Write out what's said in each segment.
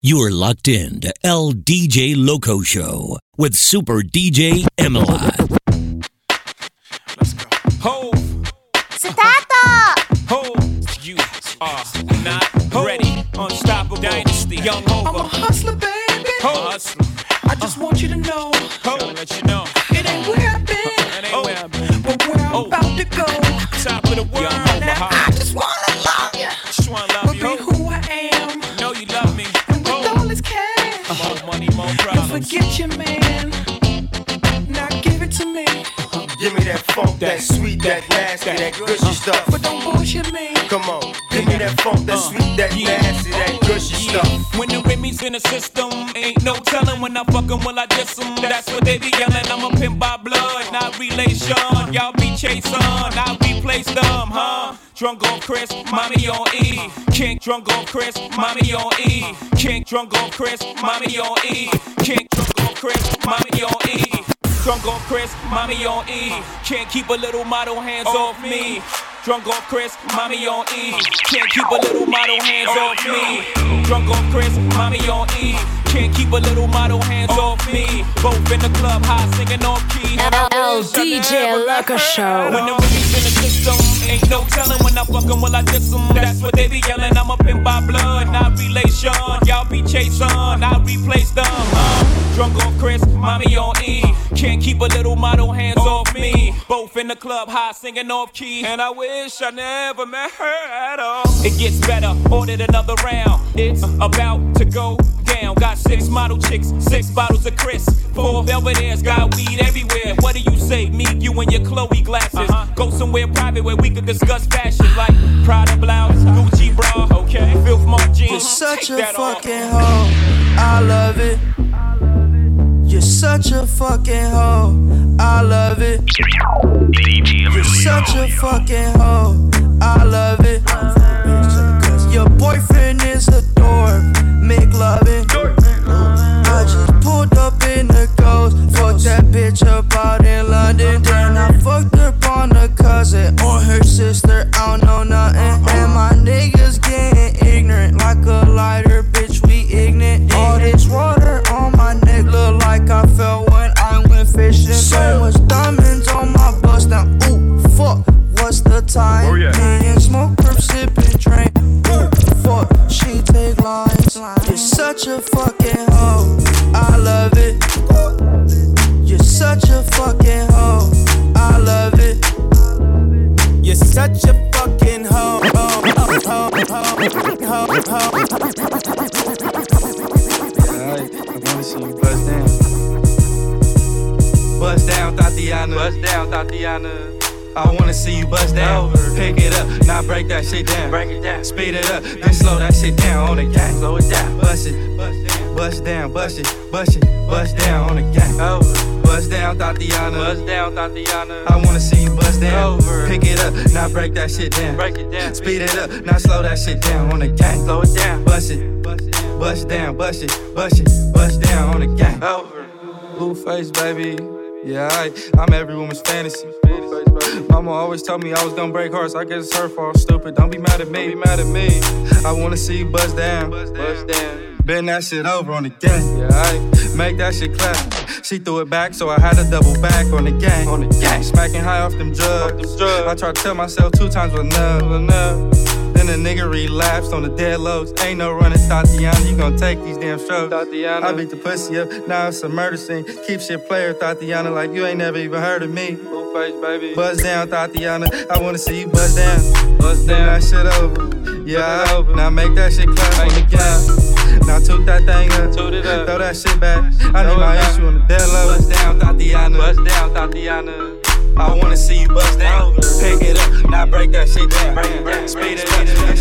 You're locked in to El DJ Loco Show with Super DJ Emilot. Let's go. Hove. Start! Hove. You are not ready. Unstoppable Dynasty. Young Hova. I'm a hustler, baby. Hustler. I just want you to know. Hove. Let you know. It ain't where I've been. It ain't where I've been. But where I'm about to go. Top of the world. Young Hova. Now I just wanna love you. Just wanna love you. But be who I am. Know you love me. And with all this cash. More money, more problems. Don't forget your man. Now give it to me. Give me that funk, that sweet, that nasty, that gushy stuff. But don't bullshit me. Come on, give me that funk, that sweet, that nasty, that gushy stuff. When the Remy's in the system, ain't no telling when I fuck 'em, will I diss 'em. That's what they be yelling. I'm a pimp by blood, not relation. Y'all be chasing, I replace them, huh? Drunk on Chris, mommy on E. Kink drunk on Chris, mommy on E. Kink drunk on Chris, mommy on E. Kink drunk on Chris, mommy on E. Drunk on Chris, mommy on E. Can't keep a little model, hands off me. Drunk off Chris, mommy on E. Can't keep a little model, hands off me. Drunk off Chris, mommy on E. Can't keep a little model, hands off me. Both in the club, high singing off key. El DJ Loco Show. When the Remy's in the system, ain't no telling when I fuck 'em, will I diss 'em. That's what they be yelling. I'm a pimp by blood, not relation. Y'all be chasing, I replace them. Drunk off Chris, mommy on E. Can't keep a little model, hands off me. Both in the club, high singing off key. And I wish I never met her at all. It gets better, ordered another round. It's about to go down. Got 6 model chicks, 6 bottles of Chris. 4 Belvedere's, got weed everywhere. What do you say? Meet you in your Chloe glasses. Go somewhere private where we could discuss fashion, like Prada blouse, Gucci bra, okay? Filth Mark jeans. You're such a fucking hoe. I love it. You're such a fucking hoe. I love it. You're such a fucking hoe. I love it. Your boyfriend is a dork. Make loving. I just pulled up in the Ghost. Fucked that bitch up out in London. Then I fucked up on a cousin or her sister. I don't know nothing. And my niggas getting ignorant like a lighter, bitch. We ignorant. All this water on my neck look like I fell when I went fishing. So much diamonds on my bust now. Ooh, fuck. What's the time? Oh, yeah. Me and smoke, perp, sip, and drink. Ooh, fuck. She take lines. You're such a fucking hoe. I love it. You're such a fucking hoe. I love it. You're such a fucking hoe. Alright, I wanna see you bust down. Bust down, Tatiana. Bust down, Tatiana. I wanna see you bust down. Pick it up, now break that shit down. Break it down. Speed it up, then slow that shit down on the gang. Slow it down. Bust it, bust down, bust it, bust it, bust down on the gang. Bust down, Tatiana. Bust down, Tatiana. I wanna see you bust down. Pick it up, now break that shit down. Break it down. Speed it up, now slow that shit down on the gang. Slow it down. Bust it, bust down, bust it, bust it, bust down on the gang. Blueface, baby. Yeah, I'm every woman's fantasy. Mama always told me I was gonna break hearts. I guess it's her fault. Stupid. Don't be mad at me. Be mad at me. I wanna see you bust down. Bust down. Bend that shit over on the gang. Yeah, make that shit clap. She threw it back, so I had to double back on the gang. On the gang. Smacking high off them drugs. I tried to tell myself 2 times was enough. Then the nigga relapsed on the dead lows. Ain't no running, Tatiana. You gon' take these damn strokes. Tatiana. I beat the pussy up. Now it's a murder scene. Keep shit player, Tatiana, like you ain't never even heard of me. Face, baby. Buzz down, Tatiana. I wanna see you buzz down. Buzz down. That shit over. Yeah, over. Now make that shit clap on the gang. Now toot that thing up. Toot it up. Throw that shit back. I need my issue on the dead low. Buzz down, Tatiana. Buzz down, Tatiana. I wanna see you buzz down. Pick it up. Now break that shit down. Speed it up.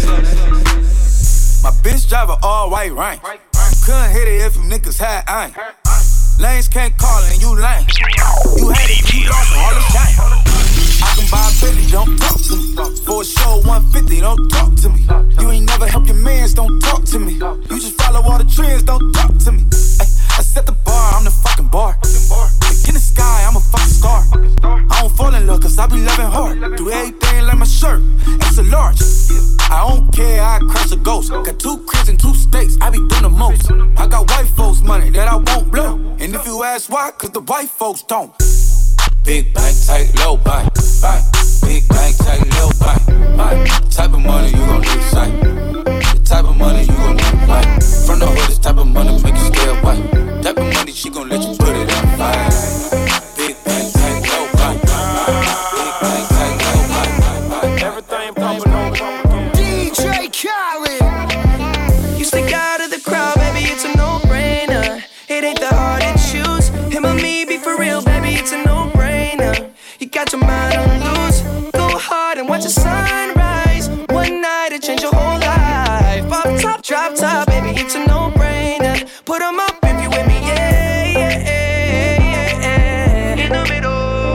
My bitch drive a all white rank. Couldn't hit it if you niggas had aim. Lanes can't call and you lame. You had it, you lost all the shine. I can buy a Bentley, don't talk to me. For a show 150, don't talk to me. You ain't never help your mans, don't talk to me. You just follow all the trends, don't talk to me. Ay, I set the bar, I'm the fucking bar. In the sky, I'm a fucking star. I don't fall in love cause I be loving hard. Do everything like my shirt, it's a large. I don't care, I crash a ghost. Got 2 cribs and 2 states, I be doing the most. I got white folks' money that I won't blow. And if you ask why, cause the white folks don't. Big bank, tight, low bank, bank. Big bank, tight, low bank, bank. Type of money you gon' need sight. The type of money you gon' need white. From the hood, this type of money make you stay white. Type of money she gon' let you put it on fire. Big bank, tight, low bank, big bank, tight, low bank. Everything pumping on. DJ Khaled. You stick out of the crowd, baby, it's a no-brainer. It ain't that hard to choose. Him or me, be for real, baby, it's a no-brainer. You got your mind on loose. Go hard and watch the sunrise. One night it change your whole life. Off top, drop top, baby, it's a no-brainer. Put 'em up if you with me, yeah, yeah, yeah, yeah. In the middle.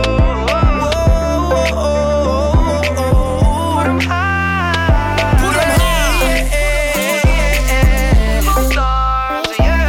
Put 'em high. Put 'em high. Stars, yeah.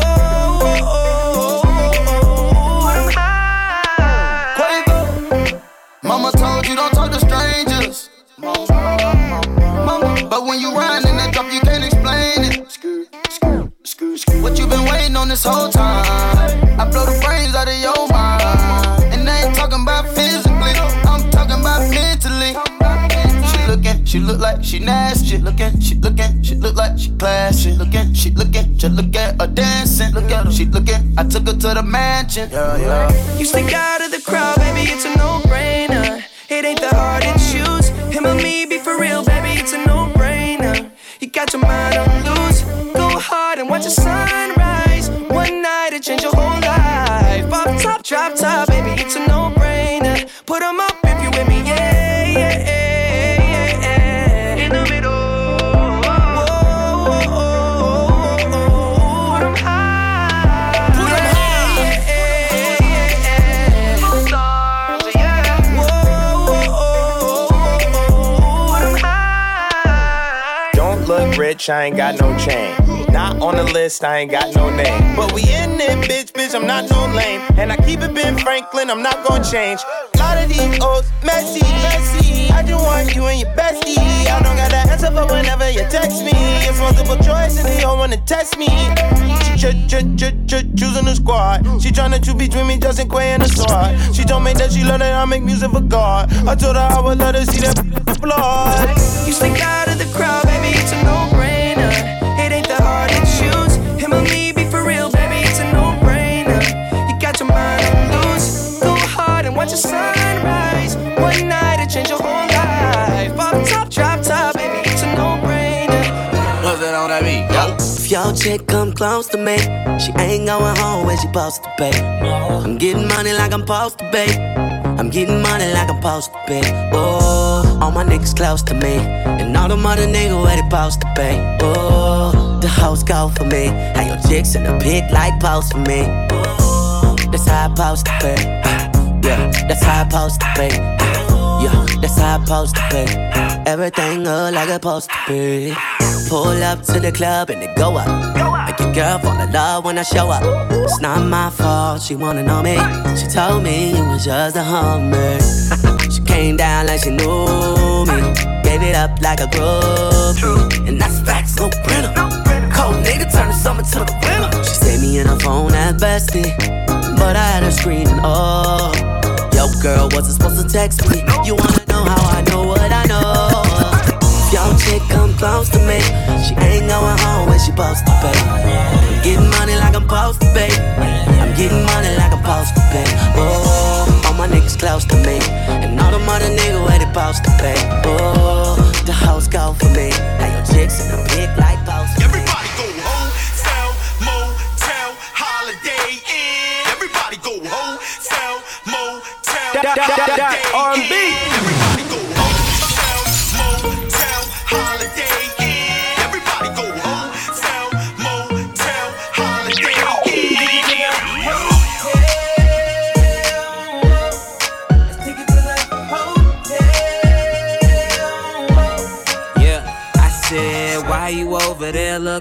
Put 'em high. Quavo. Mama told you don't talk to strangers. Mama, but when you ride in that drop, you can't explain it. What you been waiting on this whole time? I blow the brains out of your mind. And I ain't talking about physically, I'm talking about mentally. She look like she nasty. She look like she classy. She looking, just look at her dancing. Look at her, she looking. I took her to the mansion. Yeah. You stick out of the crowd, baby, it's a no-brainer. It ain't that hard to choose. Him or me, be for real, baby, it's a no-brainer. You got your mind on loose. Go hard and watch the sunrise. One night it change your whole life. Off top, drop top, baby, it's a no-brainer. Put 'em up if you with me, yeah, yeah, yeah, yeah. In the middle. Put 'em high. Put 'em high. Stars, yeah. Put 'em high. Don't look rich, I ain't got no chain. Not on the list, I ain't got no name. But we in it, bitch, I'm not no lame. And I keep it Ben Franklin, I'm not gonna change. A lot of these old messy. I just want you and your bestie. I don't got that answer for whenever you text me. It's multiple choice and they all wanna test me. She choosing the squad. She tryna choose between me, Justin Quay and the sword. She told me that she love that I make music for God. I told her I would let her see that blood. You stick out of the crowd, baby, it's a no-brainer. It ain't that hard to choose. Him or me, be for real, baby, it's a no-brainer. You got your mind on loose. Go hard and watch the sunrise. One night it change your whole life. Off top, drop top, baby, it's a no-brainer. What's that on that beat? If your chick come close to me, she ain't going home when she supposed to pay. I'm getting money like I'm supposed to pay. I'm getting money like I'm supposed to pay. Oh, all my niggas close to me, and all the mother niggas where they supposed to pay. Oh, the hoes go for me. How your chicks in the pit like post for me. Oh, that's how I supposed to pay. Yeah, that's how I supposed to pay. Yeah, that's how I supposed to pay. Everything look like it's supposed to be. Pull up to the club and it go up. Make your girl fall in love when I show up. It's not my fault, she wanna know me. She told me it was just a hummer. She came down like she knew me. Gave it up like a groupie. And that's facts, no printer. Cold nigga turn the summer to the winter. She saved me in her phone at bestie, but I had her screaming, oh. Yo girl, wasn't supposed to text me. You wanna know how I know what I know? Your chick come close to me, she ain't going home when she supposed to pay. I'm getting money like I'm supposed to pay. I'm getting money like I'm supposed to pay. Oh, all my niggas close to me, and all the mother niggas where they supposed to pay. Oh, the hoes go for me. Now your chicks in the pig like post. Everybody go home, sell, motel, holiday inn. Everybody go home, sell, motel, holiday inn. R&B. Everybody go home, sell, motel, holiday inn. Everybody go home, sell, motel, holiday inn. Yeah, I said, why you over there looking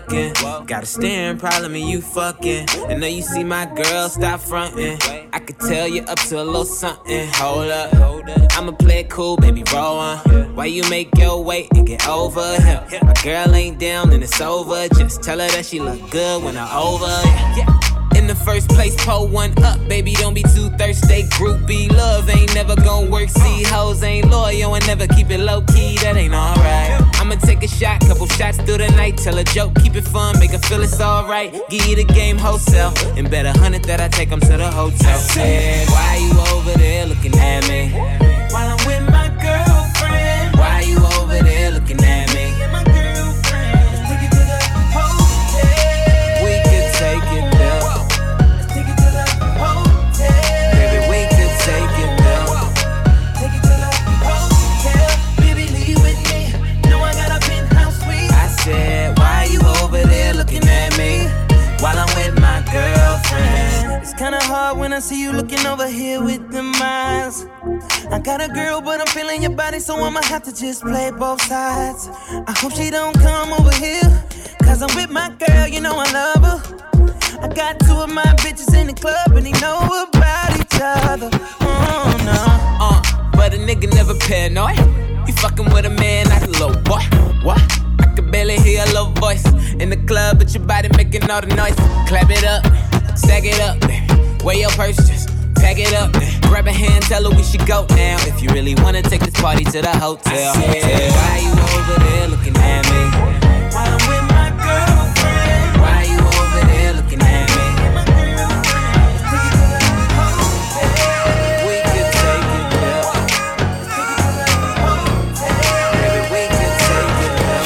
looking. Got a staring problem and you fucking. I know you see my girl, stop fronting. I could tell you up to a little something. Hold up, I'ma play it cool, baby, roll on. Why you make your way and get over here? My girl ain't down and it's over. Just tell her that she look good when I'm over. In the first place, pull one up, baby, don't be too thirsty. Groupie love ain't never gon' work. See, hoes ain't loyal and never keep it low-key, that ain't alright. I'ma take a shot, couple shots through the night. Tell a joke, keep it fun, make her feel it's alright. Give you the game wholesale, and bet 100 that I take them to the hotel. Said, why you over there looking at me? While I'm with my girlfriend. Why you over there looking at me? My girlfriend. Let's take it to the hotel. We could take it there. Let's take it to the hotel. Baby, we could take it there. Take it to the hotel. Baby, leave with me. Know I got a penthouse suite. I said, why you over there looking at me? While I'm with my girlfriend. It's kinda hard when I see you looking over here with them eyes. I got a girl, but I'm feeling your body, so I'ma have to just play both sides. I hope she don't come over here, cause I'm with my girl, you know I love her. I got two of my bitches in the club, and they know about each other. Oh no. But a nigga never paranoid. You fucking with a man like a little boy. What? I could barely hear your little voice in the club, but your body making all the noise. Clap it up, stack it up, wear your purse, just tag it up. Grab a hand, tell her we should go now. If you really wanna take this party to the hotel. Why you over there looking at me? While I'm with my girlfriend. Why you over there looking at me? My girlfriend. Let's take it to the hotel. We could take it there. Let's take it to the hotel. Baby, we could take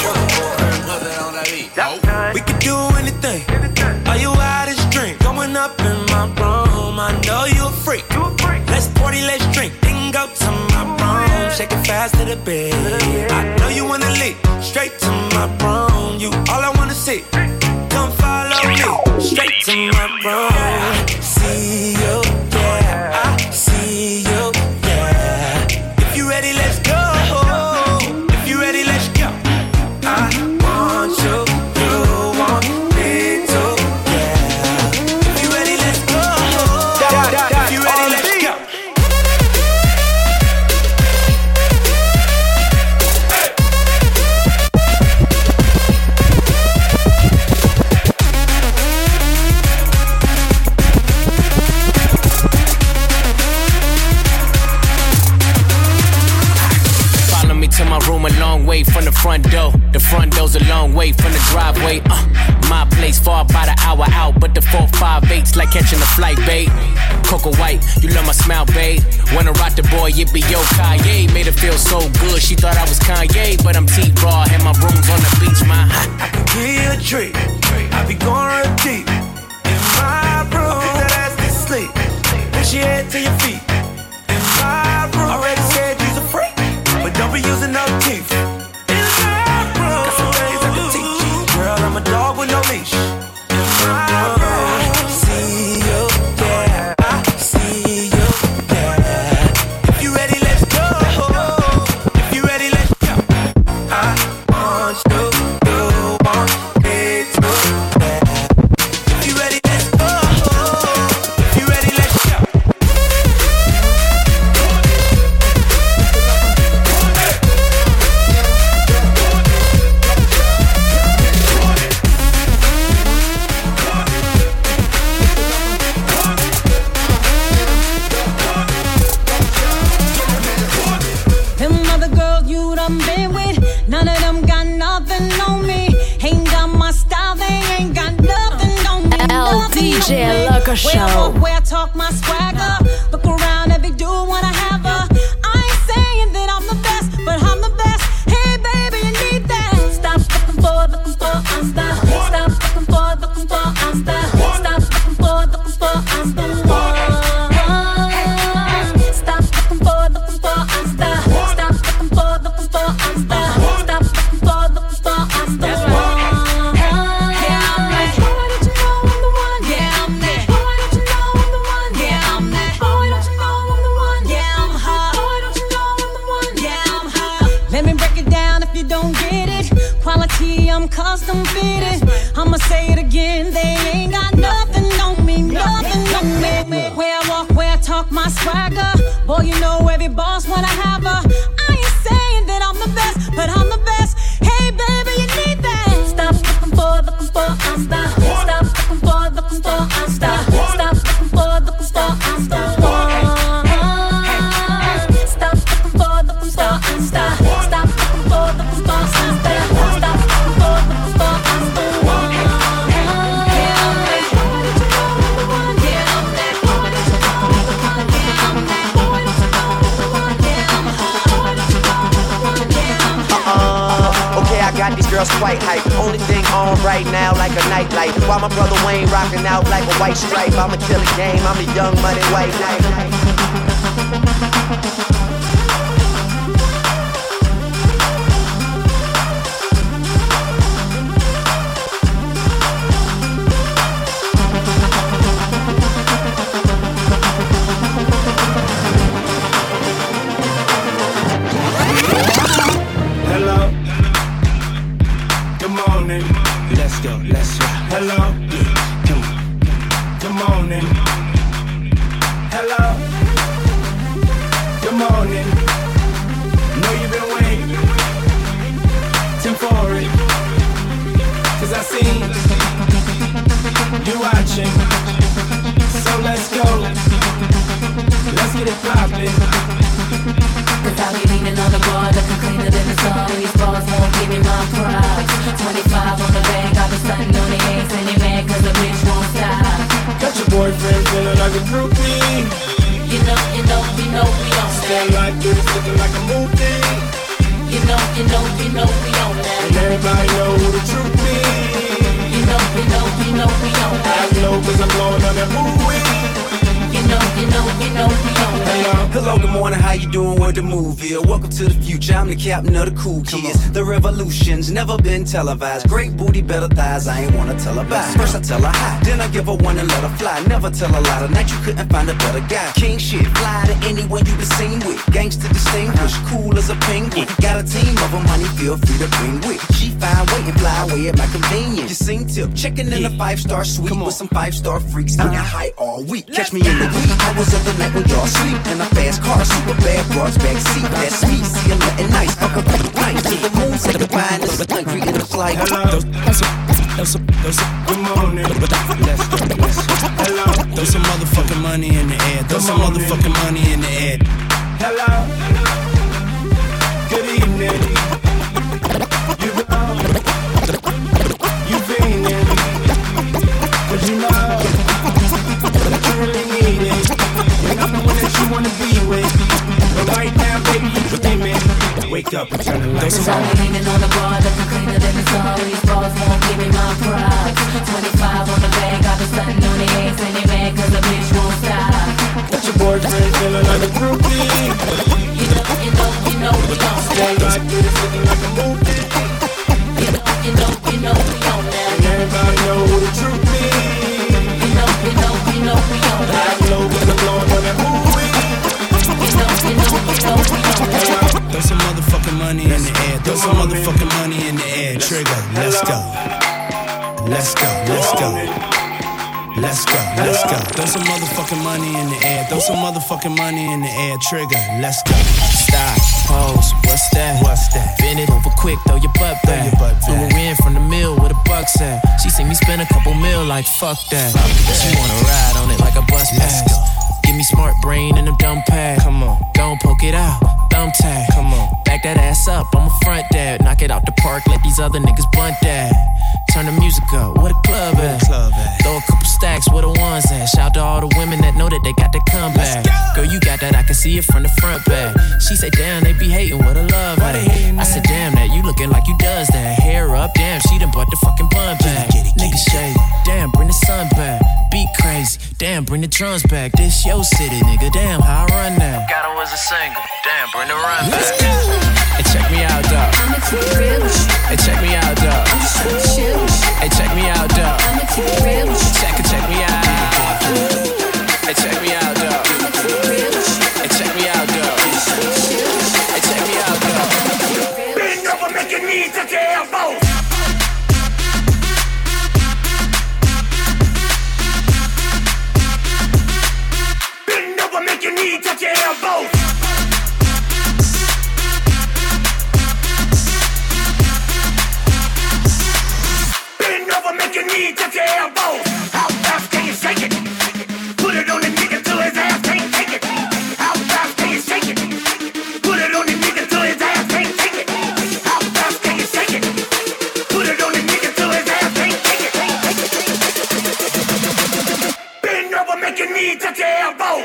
it there. We could do anything. Are you out of drink? Going up in my room. I know you a freak. Let's party, let's drink. Then go to my room. Shake it fast to the bed. I know you wanna leave. Straight to my room. You all I wanna see. Come follow me. Straight to my room. See you, yeah. I see you, yeah. If you ready, let's go. If you ready, let's go. I want you. You want me too, yeah. If you ready, let's go. If you ready, let's go. Follow me to my room a long way from the front door. The front door's a long way from the driveway. My place far about an hour out, but the 458's like catching a flight, babe. Coco White, you love my smile, babe. Wanna rock the boy, it be yo Kanye. Made her feel so good, she thought I was Kanye, but I'm T-Raw, and my room's on the beach, my. I can give you a treat. I be going real deep in my room. Put that ass to sleep. Push your head to your feet. In my room. Already said you's a freak, but don't be using no teeth. In my room. Got some things I can teach you. Girl, I'm a dog with no leash. In my room. See you, yeah. I see you, yeah. If you ready, let's go. If you ready, let's go. I want you. You want me too, yeah. If you ready, let's go. If you ready, let's go. Them other girls you done been with, none of them got nothing on me. Ain't got my style, they ain't got nothing on me. DJ Loco Show. Where I talk my swagger, look around if they do wanna have her. I ain't saying that I'm the best, but I'm the best. Hey baby, you need that. Stop looking for, I'm the. Stop looking for, I'm the. Stop looking for, I'm the one. Stop looking for, I'm the. Stop looking for, I'm the. Stop looking for, I'm the one. Yeah, I'm that. Boy, don't you know I'm the one? Yeah, I'm that. Boy, don't you know I'm the one? Yeah, I'm that. Boy, don't you know I'm the one? Yeah, I'm again. They ain't got nothing on me, nothing on me. Where I walk, where I talk, my swagger. Boy, you know every boss wanna have her. I ain't saying that I'm the best, but I'm the best. Hey, baby, you need that. Stop looking for, I'm stop. Stop looking for, I'm stop. Stop looking for, I'm stop. These girls quite hype. Only thing on right now like a nightlight. While my brother Wayne rocking out like a white stripe. I'ma kill a game. I'm a young money white knight. Let's go. Hello. Good morning. Hello. Good morning. Know you've been waiting for it. 'Cause I see you watching. So let's go. Let's get it poppin'. Without me leaning on the bar, looking cleaner than the sun. These bars won't give me my props. 25 on the bag, I've been stunting on the eggs, and they mad 'cause the bitch won't stop. Got your boyfriend feeling like a groupie. You know we on that. Stand like this, looking like a movie. You know we on that. And everybody know who the truth is. You know we on that. I know 'cause I'm blowing on that movie. You know we on that. Hello, good morning, how you doing? Where the move is? Welcome to the future, I'm the captain of the cool kids. The revolution's never been televised. Great booty, better thighs, I ain't wanna tell her bye. First I tell her hi, then I give her one and let her fly. Never tell a lie, tonight you couldn't find a better guy. King shit, fly to anyone you been seen with. Gangsta distinguished, cool as a penguin. Got a team of them, money feel free to bring with. She fine, wait and fly away at my convenience. You sing tip, checking in a 5-star suite with some 5-star freaks. Getting high all week, catch me in the wee hours of the night when y'all sleep. In a fast car, super bad broads back seat. That's me, see I'm nothing nice. Fuck up night to the moon, set the wine, this is country in the flight. Hello. Good morning. Let's go. Hello. Throw some motherfucking money in the air. Throw some motherfucking money in the air. Hello. Good evening. You feeling? But you know that you really need it. And I'm the one that you wanna be with. But right now, baby, you dreaming. Wake up and turn the lights on. Cause I'm leaning on the bar, looking cleaner than the sun. These bars won't give me my props. 25 on the bag, I've been stunting on the eggs, and they mad 'cause the bitch won't stop. Got your boyfriend feeling like a groupie. You know we on Stand like this, looking like a movie. You know we on that. And everybody know who the truth is. You know we on that. I know 'cause I'm blowing on that movie. You know we on that. Throw some motherfucking money in the air. Throw some motherfucking money in the air. Trigger, let's go. Let's go, let's go. Let's go, let's go. Throw some motherfucking money in the air. Throw some motherfucking money in the air. Trigger, let's go. Stop, pose, what's that? What's that? Bend it over quick, throw your butt back. Flew her in from the mill with a buck at. She seen me spend a couple mil like fuck that. She wanna ride on it like a bus pass. Give me smart brain and a dumb pad. Come on, don't poke it out, thumb tag. Come on, back that ass up, I'm a front dad. Knock it out the park, let these other niggas bunt that. Turn the music up, where the club at? Throw a couple stacks, where the ones at? Shout to all the women that know that they got that comeback. Girl, you got that, I can see it from the front back. She said, damn, they be hating, what a love at. I said, damn, that you looking like you does that. Hair up, damn, she done bought the fucking bun back. Niggas shade, damn, bring the sun back. Beat crazy, damn, bring the drums back. This your city, nigga, damn, how I run now. Got her as a single, damn, bring the run back. Hey, check me out, dog. I'ma keep it real with you. Hey, check me out, dog. I'm just trying to chill with you. Hey, check me out, dog. I'ma keep it real with you. Check me out. Hey, check me out, dog. I'ma keep it real with you. Hey, check me out, dog. Hey, check me out, dog. Bend over, make it need to tear both. need to care about.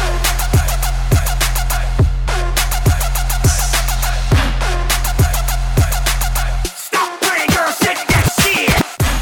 Stop playing, girl, shake that shit.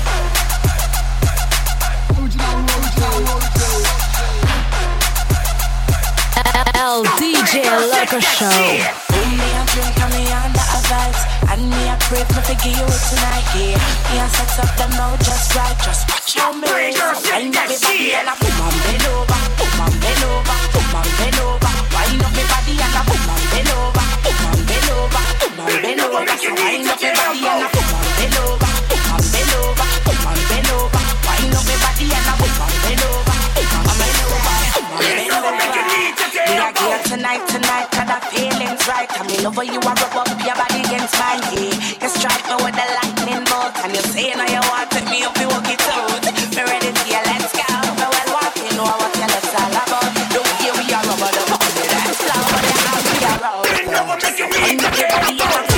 LDJ Loco Show. Me a drink and me under a vibes, and me a crave me to give you it tonight, yeah. Me a set up them now just right, just watch how me raise up. Wind up me body and a boom and bend over, boom and bend over, boom and bend over. Wind up me body and a boom and bend over, boom and bend over, boom and bend over. So wind up me body and a boom and bend over, boom and bend over, boom and bend over. Wind up me body and a boom and bend over, boom and bend over, boom and bend over. We are here tonight, cause the feeling's right. I mean, over you, I rub up your body against mine, yeah. You strike me with the lightning bolt, and you say now you want to take me up, you walk it out. Me ready to you, let's go. Me well walking, know what your lips all about. Look here, we are rubber, the body, that's slow, but the house we are out. I'm not your body, I'm not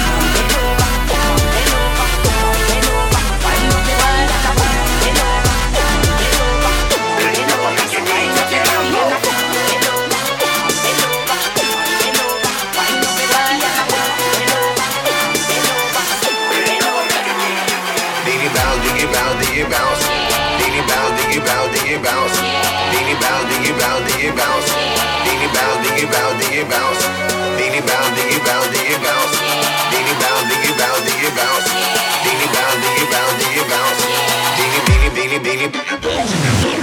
diggy bounce, diggy bounce, diggy bounce, diggy bounce, diggy bounce, diggy bounce, diggy bounce, diggy bounce, diggy bounce, diggy bounce, diggy bounce, diggy bounce, diggy bounce, diggy bounce, diggy bounce, diggy bounce, diggy bounce, diggy bounce, diggy bounce, diggy, diggy, diggy, diggy.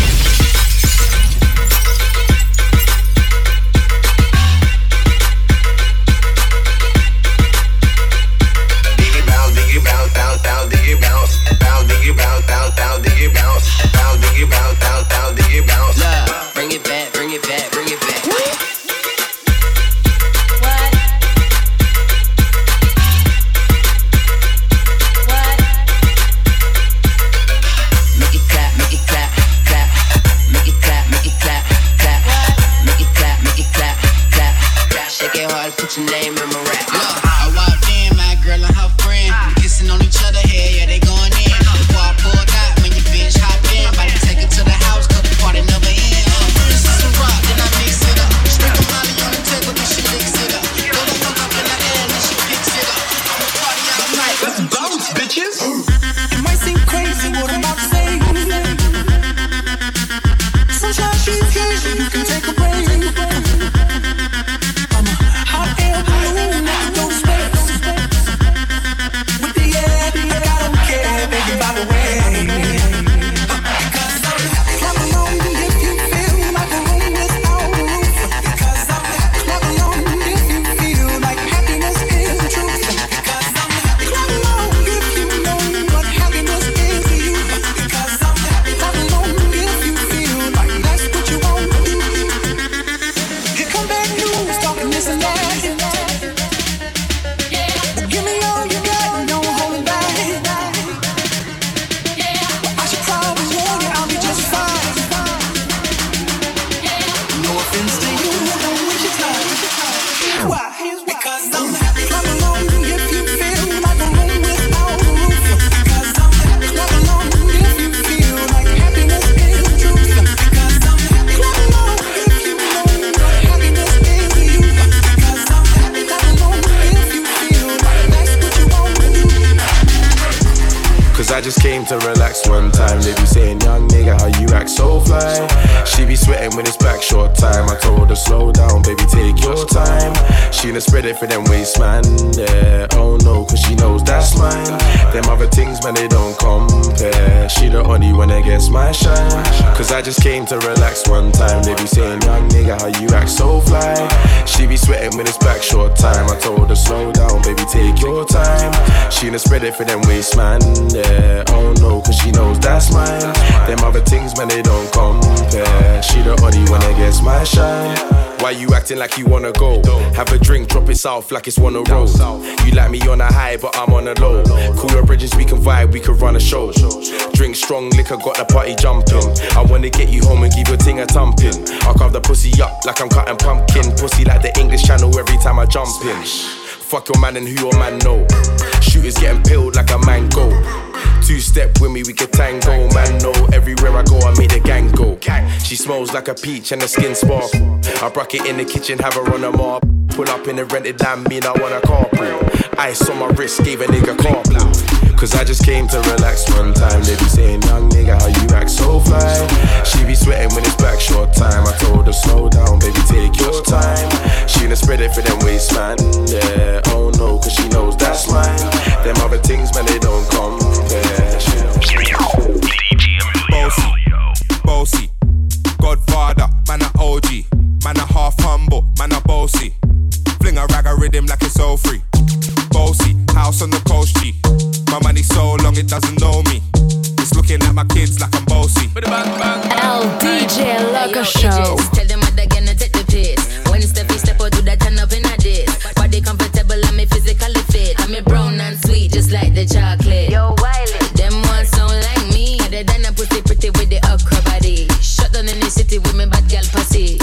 Bring it back, bring it back, bring it back. Make it clap, make it clap, clap. Make it clap, make it clap, clap. Make it clap, make it clap, clap, clap. Shake it hard, put your name in my rap. Look, I walked in, my girl and her friend kissing on each other, hey, yeah, they going in. Before I pulled out, when your bitch hopped in, about to take it to the house, cause the party never ends. First is some rock, then I mix it up. Sprinkle Molly on the table, then she licks it up. Go the fuck up in the air, then she picks it up. I'ma party all night. Let's bounce, bitches. It might seem crazy what I'm about to say. Sunshine, she's here, you can take a break. I'm a hot air balloon that can go to space. With the air, I don't care, baby, by the way. Because I'm clap along if you feel like a room without a roof. Because I'm clap along if you feel like happiness is the truth. Because I'm clap along if you know what happiness is to you. Because I'm clap along if you feel like that's what you want to do. Here come bad news, talking this and that. Give me all you got, no holding back. I should probably warn you, I'll be just fine. No offense to you, don't waste your time. Why? Because I'm clap along if you feel like a room without a roof. Because I'm clap along if you feel like happiness is the truth. Because I'm clap along if you know what happiness is to you. Because I'm clap along if you feel like that's what you want to do. Cause I just came to relax one time. They be saying, young nigga, how you act so fly. She be sweating when it's back short time. I told her, slow down, baby, take your time. She done spread it for them waist, man. Yeah, oh no, cause she knows that's mine. Them other things, man, they don't compare. She the only one that gets my shine. Cause I just came to relax one time. They be saying, young nigga, how you act so fly. She be sweating when it's back short time. I told her, slow down, baby, take your time. She done spread it for them waist, man. Yeah, oh no, cause she knows that's mine. Them other things, man, they don't compare. She the only one that gets my shine. Why you acting like you wanna go? Have a drink, drop it south like it's one a roll. You like me on a high, but I'm on a low. Cool your bridges, we can vibe, we can run a show. Drink strong liquor, got the party jumping. I wanna get you home and give your ting a thumping. I'll carve the pussy up like I'm cutting pumpkin. Pussy like the English Channel every time I jump in. Fuck your man and who your man know. Shooters getting peeled like a mango. Two-step with me, we can tango. Man, no, everywhere I go, I make the gang go. She smells like a peach and the skin sparkle. I broke it in the kitchen, have her on a mob. Pull up in the rented land, mean I want a carpool. Ice on my wrist, gave a nigga carpool. Cause I just came to relax one time. They be saying, young nigga, how you act so fly. She be sweating when it's back short time. I told her, slow down, baby, take your time. She done spread it for them waist, man. Yeah, oh no, cause she knows that's mine. Them other things, man, they don't compare. Bossy, bossy, Godfather, man a OG, man a half humble, man a bossy. Fling a rag a rhythm like it's all free. Bossy, house on the coast G. My money so long it doesn't know me. It's looking at my kids like I'm bossy. El DJ Loco Show. Tell them what they're gonna take the piss. When Steffi step out, do that turn up in a diss. Body comfortable, I'm physically fit. I'm a brown and sweet, just like the chocolate. Yo, Wiley, them ones sound like me. They done a pussy pretty with the okra body. Shut down in the city with me bad girl pussy.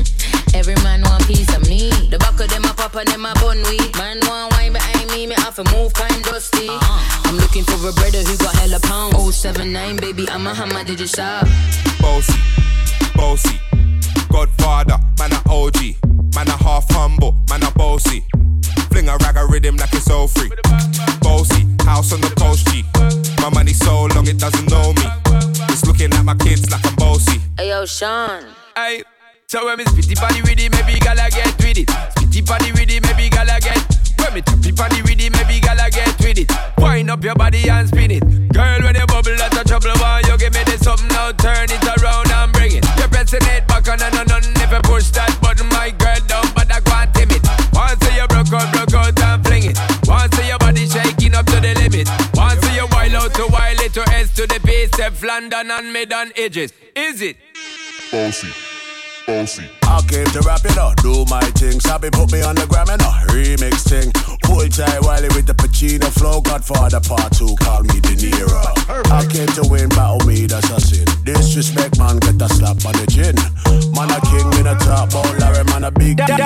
Every man want piece of me. The back of them a pop and them a bun weed. Man want wine behind me, me have to move kind dusty. I'm looking for a brother who got hella pound. 079, baby, I'm a hammer, did you shop? Bossy, bossy, Godfather, man a OG, man a half humble, man a bossy. Fling a rag a rhythm like it's all free. Bossy, house on the coast G. My money so long it doesn't know me. It's looking at my kids like I'm bossy. Hey yo, Sean. Hey, so when me spitty body with it, maybe gala get with it. Spitty body with it, maybe gala get. When me tappy body with it, maybe gala get with it. Wind up your body and spin it. Girl, when you bubble, that's a trouble. Why you give me this something now? Turn it around and bring it. You're pressing it back on and on. If you push that button, my girl down, but I can't timid. Once you broke out and fling it. Once your body shaking up to the limit. Once you wild out to wild it to S to the base, Steph London and mid on edges. Is it? Bossy, bossy. I came to rap it up, do my thing. Sabi put me on the gram and a remix thing. Hold tight Wiley with the Pacino flow. Godfather part 2, call me De Niro. I came to win, battle me, that's a sin. Disrespect, man, get a slap on the chin. Man a king in a top, ball Larry, man a big DJ.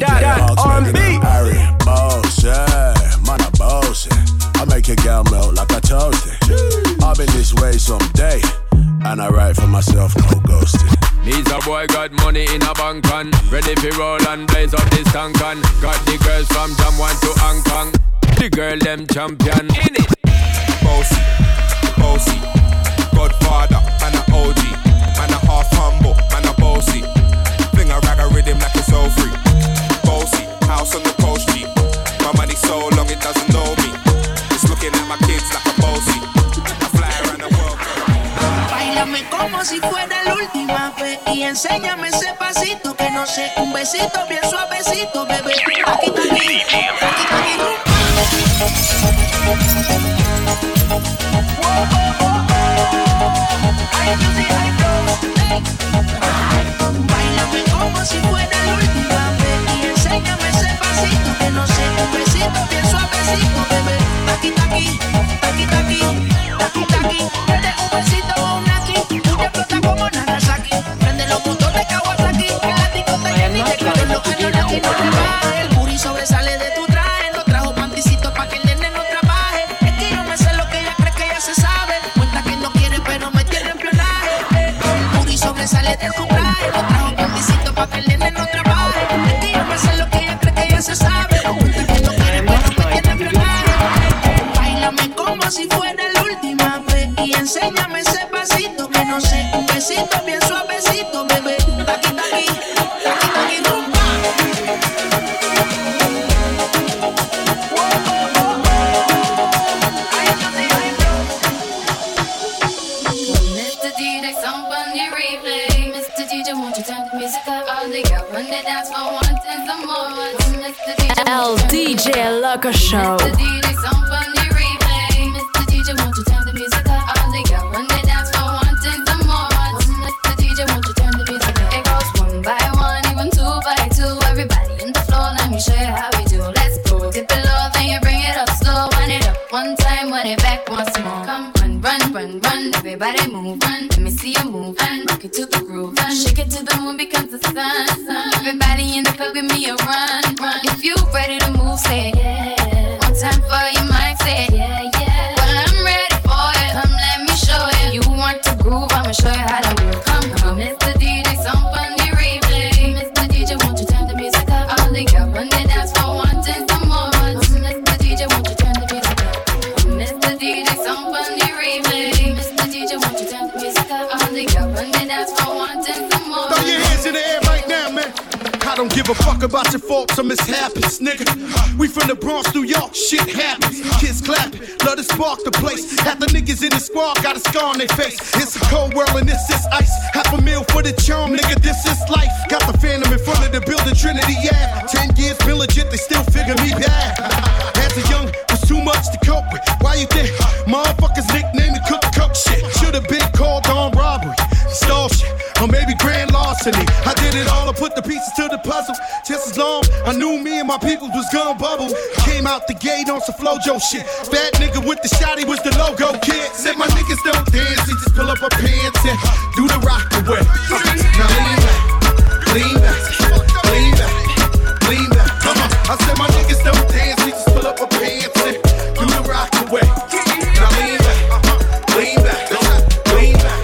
R&B, Harry, boss, yeah. Man a boss, I make your girl melt like a toasty. I'll be this way someday, and I write for myself, no ghosting. Needs a boy got money in a bank on. Ready for roll and blaze up this tank on. Got the girls from Jamwan to Hong Kong. The girl them champion in it. Bossy, bossy, Godfather, man a OG, man a half humble, man a bossy. Fling a rag a rhythm like it's all free. Bossy, house on the coast G. My money so long it doesn't know me. It's looking at my kids like a bossy. I fly around the world. Báilame como si fuera la última vez y enséñame ese pasito que no sé, un besito bien suavecito, bebé. Aquí está aquí, aquí está aquí. Báilame como si fuera la última vez y enséñame ese pasito que no sé, un besito bien suavecito, bebé. Aquí está aquí, aquí está aquí, aquí está aquí. Dale un besito a una aquí, tú te explotas como Nagasaki. Prende los motores Kawasaki, el látigo está llenito de calor, los años aquí no te baja. El booty sobresale de tu traje, no trajo panticito pa' que el nene no trabaje. Es que yo me sé lo que ella cree que ella se sabe. Cuenta que no quiere pero me tiene en plionaje. El booty sobresale de tu traje, no trajo panticito pa' que el nene no trabaje. Es que yo me sé lo que ella cree que ella se sabe. Cuenta que no quiere pero me tiene en plionaje. Báilame como si fuera la última vez y enséñame ese pasito que no sé, un besito bien suavecito, bebé. Aquí está aquí, aquí está aquí, rumba. Mr. DJ, somebody replay. Mr. DJ, won't you turn the music up? All the girls run the dance for one and some more. Mr. DJ, El DJ Loco Show. Mr. DJ, somebody replay. Mr. DJ, won't you turn the music up? All the girls run the dance for one and some more. Mr. DJ, won't you turn the music up? It goes one by one, even two by two. Everybody in the floor, let me show you how we do. Let's go. Dip it low, then you bring it up slow. Wind it up one time, wind it back once more. Come run, run, run, run. Everybody move, run. Let me see you move, and rock it to the groove. Shake it to the moon because the sun. Everybody in the club, give me a run, run. If you ready to move, say it, yeah. One time for your mind, say it, yeah, yeah. Well, I'm ready for it. Come, let me show you. You want to groove, I'ma show you how to move. Come, Mr. DJ, some run the dance floor wanting some more. Throw your hands in the air right now, man. I don't give a fuck about your faults or mishaps, nigga. We from the Bronx, New York, shit happens. Kids clapping, love to spark the place. Half the niggas in the squad got a scar on their face. It's a cold world and this is ice. $500,000 for the charm, nigga, this is life. Got the Phantom in front of the building, Trinity, yeah. 10 years been legit, they still figure me bad. As a young, was too much to cope with. Why you think motherfuckers nickname me Cook shit? Should've been called on robbery, stall shit, or maybe grand larceny. I did it all, I put the pieces to the puzzle. Just as long I knew me and my people was gonna bubble. Came out the gate on some Flojo shit. Fat nigga with the shotty was the logo kid. Said my niggas don't dance, they just pull up our pants and do the rock away. Now lean back, lean back, lean back, lean back. Come on. I said my niggas don't dance, they just pull up our pants and do the rock away. Now lean back, lean back, lean back.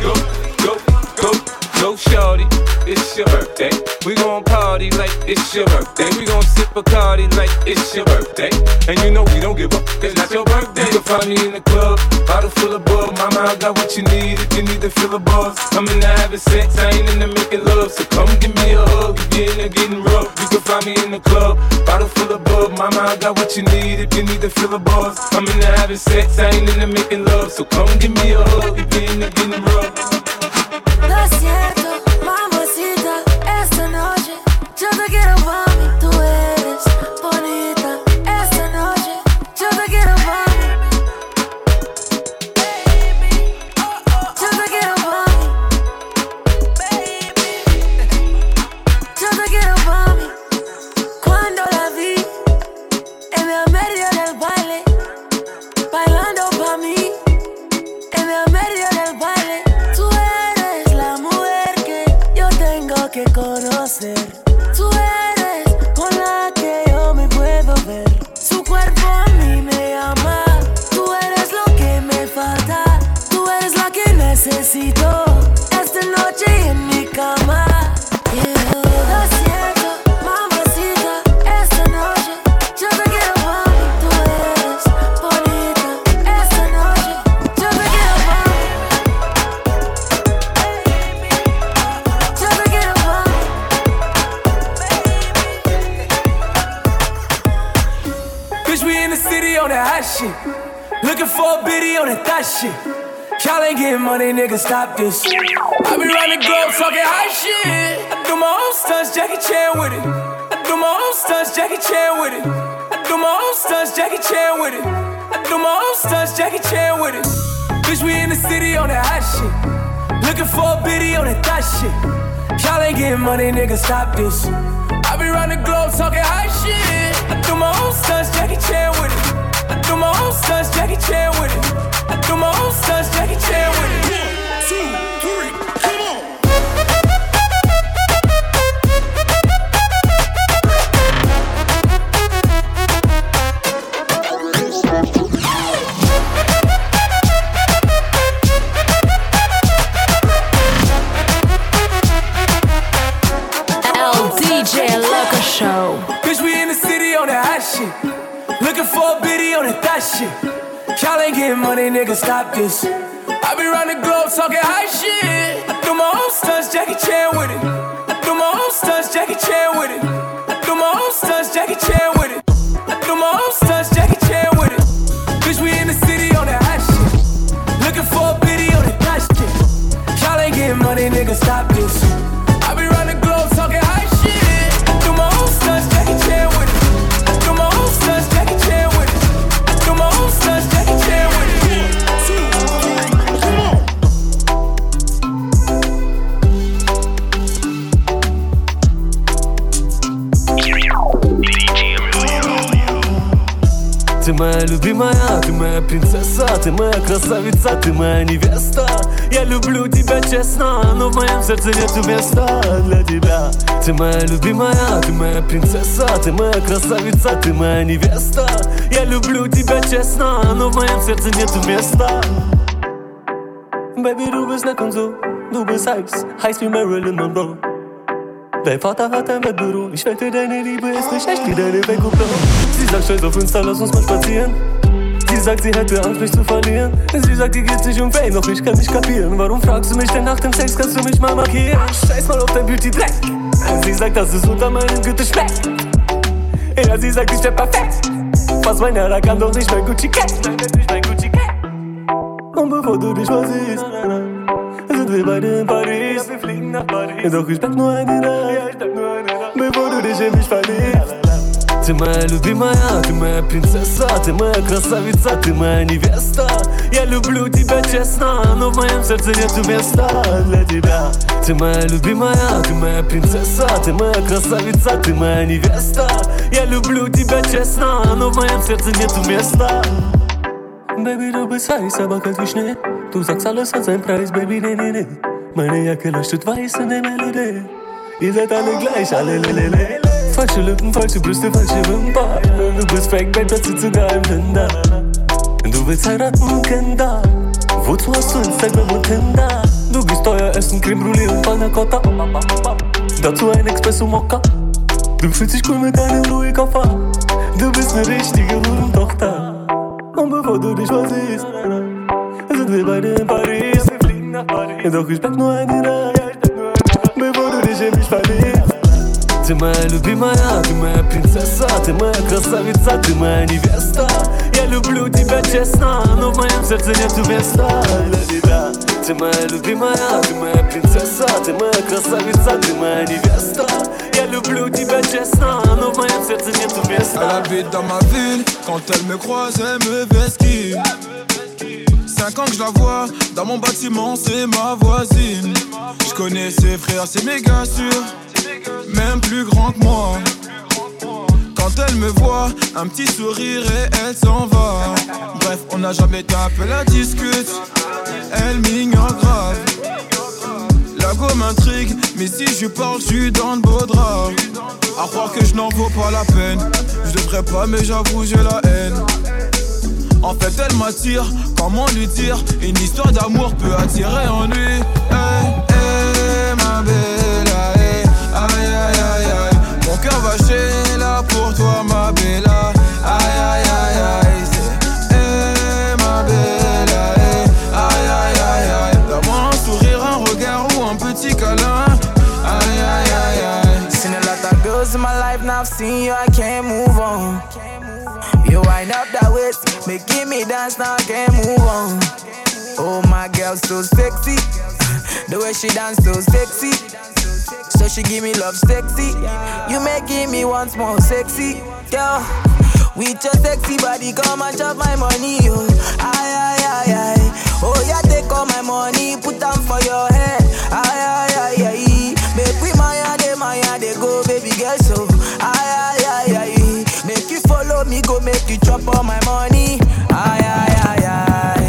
Go shorty, it's your birthday. We gon' party like it's your birthday. We gon' sip Bacardi like it's your birthday. And you know we don't give up, cause that's your birthday. You can find me in the club, bottle full of bug. Mama, I got what you need if you need to fill a buzz. I'm in the having sex, I ain't in the making love. So come give me a hug if you're in there getting rough. You can find me in the club, bottle full of bug. Mama, I got what you need if you need to fill a buzz. I'm in the having sex, I ain't in the making love. So come give me a hug if you're in there getting rough. Lo siento, mamacita, esta noche yo te quiero pa' mí. Tú eres bonita, esta noche yo te quiero pa' mí. Yo te quiero pa' mí. Yo te quiero pa' mí. Cuando la vi en el medio del baile, bailando pa' mí, en el medio del baile. Tú eres la mujer que yo tengo que conocer. Tú eres con la que yo me puedo ver. Su cuerpo a mí me llama. Tú eres lo que me falta. Tú eres la que necesito esta noche en mi cama. Lo siento, mamacita, esta noche yo te quiero pa' mí. Tú eres bonita, esta noche yo te quiero pa' mí. Yo te quiero pa' mí. Bitch, we in the city on that hot shit. Looking for a biddy on that thot shit. Y'all ain't getting money, nigga, stop this. I be round the globe talking hot shit. I do my own stunts, Jackie Chan with it. I do my own stunts, Jackie Chan with it. I do my own stunts, Jackie Chan with it. I do my own stunts, Jackie Chan with it. Bitch, we in the city on that hot shit. Looking for a biddy on that thot shit. Y'all ain't getting money, nigga, stop this. I be round the globe talking hot shit. I do my own stunts, Jackie Chan with it. I do my own stunts, Jackie Chan with it. I do my own stunts, Jackie Chan with it. 1, 2, 3, come on. DJ Loco Show. Bitch, we in the city on that hot shit. Looking for a biddy on that thot shit. Y'all ain't getting money, nigga, stop this. I be round the globe talking hot shit. I do my own stunts, Jackie Chan with it. I do my own stunts, Jackie Chan with it. I do my own stunts, Jackie Chan with it. I do my own stunts, Jackie Chan with it. Bitch, we in the city on that hot shit. Looking for a biddy on that thot shit. Y'all ain't getting money, nigga, stop this. I be round the globe talking hot shit. I do my own stunts, Jackie Chan with it. I do my own stunts, Jackie Chan with it. I do my own stunts, Jackie Chan with it. 1, 2, 3, come on. Ты моя любимая, ты моя принцесса, ты моя красавица, ты моя невеста. Я люблю тебя честно, но в моем сердце нету места для тебя. Ты моя любимая, ты моя принцесса, ты моя красавица, ты моя невеста. Я люблю тебя честно, но в moim sercu nie tu miejsca. Baby, du bist nett und so, du bist heiß wie Marilyn Monroe. Dein Vater hat ein Wettbüro, ich wette, deine Liebe ist nicht echt wie deine Wegkupplung. Sie sagt, scheiß auf Insta, lass uns mal spazieren. Sie sagt, sie hätte Angst, mich zu verlieren. Sie sagt, ihr geht's nicht um Fame, doch ich kann nicht kapieren. Warum fragst du mich denn nach dem Sex, kannst du mich mal markieren? Scheiß mal auf dein Beauty-Dreck. Sie sagt, dass es unter meinem Gürtel schmeckt. Ja, sie sagt, ich wär perfekt. Fast mein Herr, kann doch nicht mein Gucci-Cat. Nein, das ist nicht mein Gucci-Cat. Und bevor du dich versiehst, sind wir beide in Paris. Wir fliegen nach Paris. Doch ich bleib nur eine Nacht, bevor du dich in mich verliebst. Ты моя любимая, ты моя принцесса, ты моя красавица, ты моя невеста. Я люблю тебя честно, но в моем сердце нету места для тебя. Ты моя любимая, ты моя принцесса, ты моя красавица, ты моя невеста. Я люблю тебя честно, но в моем сердце nету места. Baby, du bist heiß, aber kalt wie Schnee. Du sagst, alles hat seinen Preis, Baby, nee, nee, nee. Meine Jacke leuchtet weiß in der Melodie. Ihr seid alle gleich, alle lelele. Falsche Lippen, falsche Brüste, falsche Wimpern. Du bist fake, Babe, das sieht sogar im Tinder. Du willst heiraten, Kinder. Wozu hast du Instagram und Tinder? Du gehst teuer essen, Creme Brûlée und Panna Cotta. Dazu ein Espresso Mokka. Du fühlst dich cool mit deinem Louis-Koffer. Du bist eine richtige Hurentochter. Und bevor du dich versiehst, sind wir beide in Paris. Wir fliegen nach Paris. Doch ich bleib nur eine Nacht, bevor du dich in mich verliebst. Ты моя любимая, ты моя принцесса, ты моя красавица, ты моя невеста. Я люблю тебя честно, но в моем сердце нету места для тебя. Ты моя любимая, ты моя принцесса, ты моя красавица, ты моя невеста. Я люблю тебя честно, но в моем сердце nету места. Elle habite dans ma ville, quand elle me croise, elle me vesquille. 5 ans que je la vois, dans mon bâtiment, c'est ma voisine. Je connais ses frères, c'est méga sûr. Même plus grand que moi. Quand elle me voit, un petit sourire et elle s'en va. Bref, on n'a jamais tapé la discute. Elle m'ignore grave. La go m'intrigue, mais si je parle, je suis dans le beau drap. À croire que je n'en vaux pas la peine. Je devrais pas, mais j'avoue, j'ai la haine. En fait, elle m'attire, comment lui dire? Une histoire d'amour peut attirer en lui. Hey, hey, ma belle, hey. Aïe aïe aïe aïe, mon cœur va chez là pour toi ma bella. Aïe aïe aïe aïe, c'est ma bella. Aïe aïe aïe aïe, donne-moi un sourire, un regard ou un petit câlin. Aïe aïe aïe aïe. Seen a lot of girls in my life, now I've seen you, I can't move on. You wind up that waist, making me dance, now I can't move on. Oh my girl, so sexy, the way she dance so sexy. So she give me love sexy. You making me once more sexy. Girl, with your sexy body, come and chop my money. Oh, aye, aye, aye, aye. Oh, yeah, take all my money, put them for your head. Aye, aye, aye, aye. Make we Maya, they go, baby girl, so. Aye, aye, aye, aye. Make you follow me, go make you chop all my money. Aye, aye, aye, aye.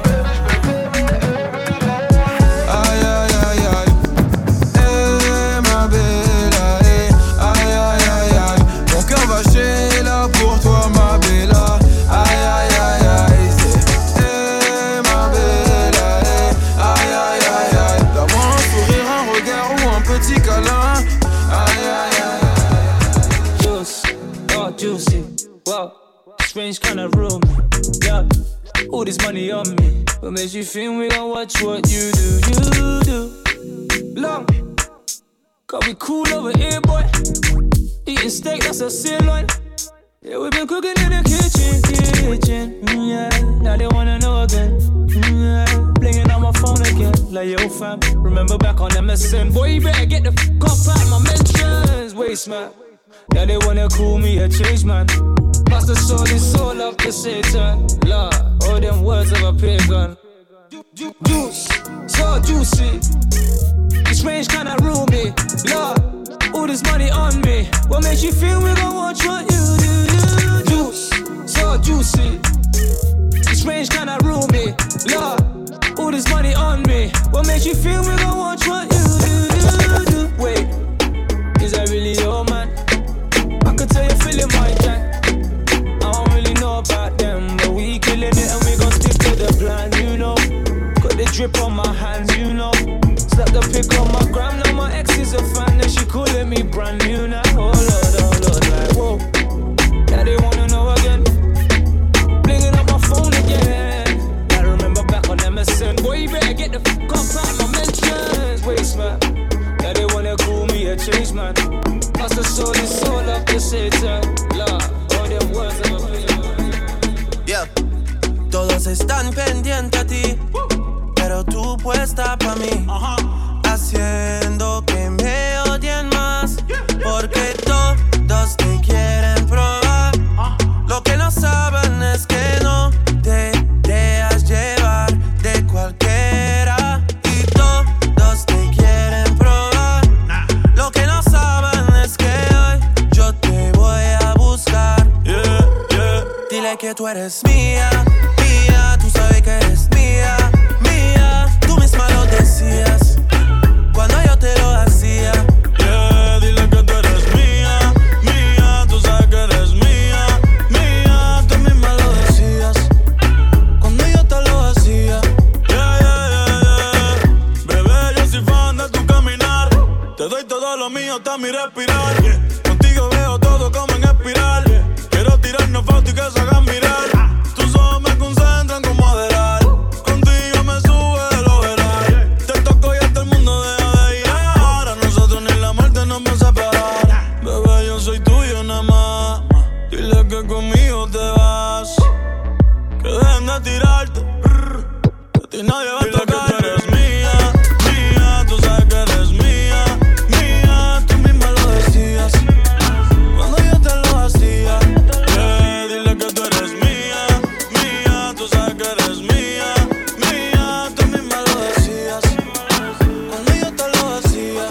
Strange kind of room, yeah. All this money on me, what makes you think we gon' watch what you do? Long, got we cool over here, boy. Eating steak, that's a sirloin. Yeah, we been cooking in the kitchen, yeah. Now they wanna know again, yeah. Blinging on my phone again, like yo fam. Remember back on MSN, boy, you better get the fuck off out my mentions, waste man. Now they wanna call me a change man. Pass the soul, it's all up to Satan. Lord, all them words of a pagan. Juice, so juicy. It's strange kinda roomy. Lord, all this money on me. What makes you feel we gon' watch what you do? Juice, so juicy. It's strange kinda roomy. Lord, all this money on me. What makes you feel we gon' watch what you do? Wait, is that really your man? I could tell you feeling my tank. I don't really know about them, but we killing it and we gon' stick to the plan, you know. Got the drip on my hands, you know. Slap the pic on my gram, now my ex is a fan and she calling me brand new now. Oh Lord, like whoa. Now they wanna know again. Blinging up my phone face, man. Yeah, they wanna call me a change, man. Must have sold his soul up to Satan. Lord, all them words of opinion. Yeah. Todos están pendientes a ti, pero tú puesta pa' mí, haciendo que me odien más, porque todos te quieren probar. Lo que no saben es que no te dejas llevar de cualquiera, y todos te quieren probar. Lo que no saben es que hoy yo te voy a buscar. Dile que tú eres mía, mía, tú sabes que eres mía, mía. Tú misma lo decías cuando yo te lo hacía. Dile que tú eres mía, mía, tú sabes que eres mía, mía. Tú misma lo decías cuando yo te lo hacía. Bebé, yo soy fan de tu caminar. Te doy todo lo mío hasta mi respirar. Contigo veo todo como en espiral. Quiero tirarnos fotos y que se hagan mirar. Tus ojos me concentran como adelar. Contigo me sube de lo veral. Te toco y hasta el mundo deja de girar. A nosotros ni la muerte nos va a separar. Bebé, yo soy tuyo nada más. Dile que conmigo te vas. Que dejen de tirarte. Que a ti nadie va a tocar. Dile que tú eres mía, mía. Tú sabes que eres mía, mía. Tú misma lo decías cuando yo te lo hacía. Dile que tú eres mía, mía. Tú sabes que eres mía, mía. Tú misma lo decías cuando yo te lo hacía.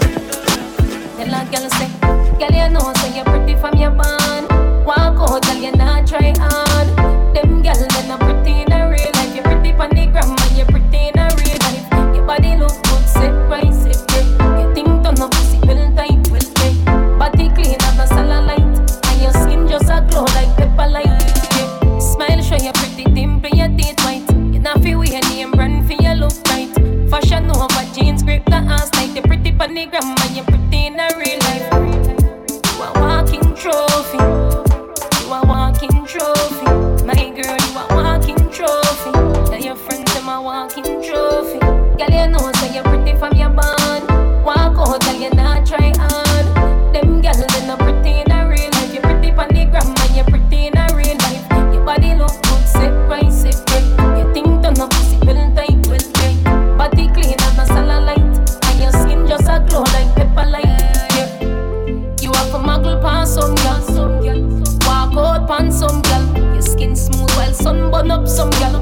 Tell a girl say, girl you know say you're pretty from your band. Walk out, girl you not try hard. Them girl they not pretty in a real life. You're pretty pon the gram and you're pretty in a real life. Your body look good, set right, set right. Your thing turn up, pussy well tight, well tight. Body clean as a cellulite, and your skin just a glow like pepper light. Yeah. Smile show you pretty dimple, your teeth white. You not feel wear name brand for your look right. Fashion over jeans, grip the ass tight. You're pretty pon the gram and you're pretty in a real life. You a walking trophy. You a walking trophy. My girl, you a walking trophy. Tell your friends them a walking trophy. Girl, you know say you're pretty from your band. Walk out, girl, you not try hard. Them girl they not pretty in a real life. You're pretty pon the gram and you're pretty in a real life. Your body look good, set right, set right. Your thing turn up, pussy well tight, well tight. Body clean as a cellulite, and your skin just a glow like pepper light. Yeah. You have a muggle past some girl, walk out past some girl. Your skin smooth while sun burn up some girl.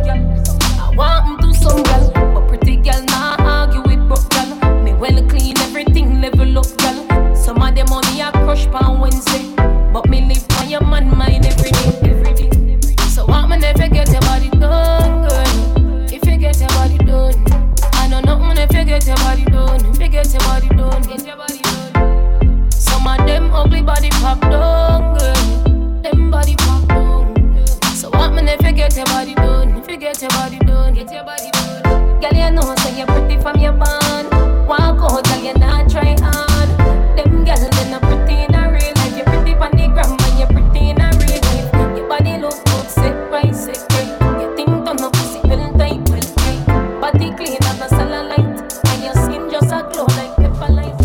I want to some girl, but pretty girl nah argue with broke girl. Me well clean, everything level up girl. Some of them money I crush on Wednesday, but me live on your man mind every day, every day. So want me never get your body done, girl. If you get your body done, I know nothing if you get your body done. If you get your body done, get your body done. Some of them ugly body pop down, girl. Them body pop down. So want me if you get your body done. If you get your body done, get your body done. Girl, you know say you're pretty from your band. Walk out, girl, you not try hard. Them girl they not pretty in a real life. You're pretty pon the gram and you're pretty in a real life. Your body look good, set right, set right. Your thing turn up, pussy well tight, well tight. Body clean as a cellulite, and your skin just a glow like pepper light.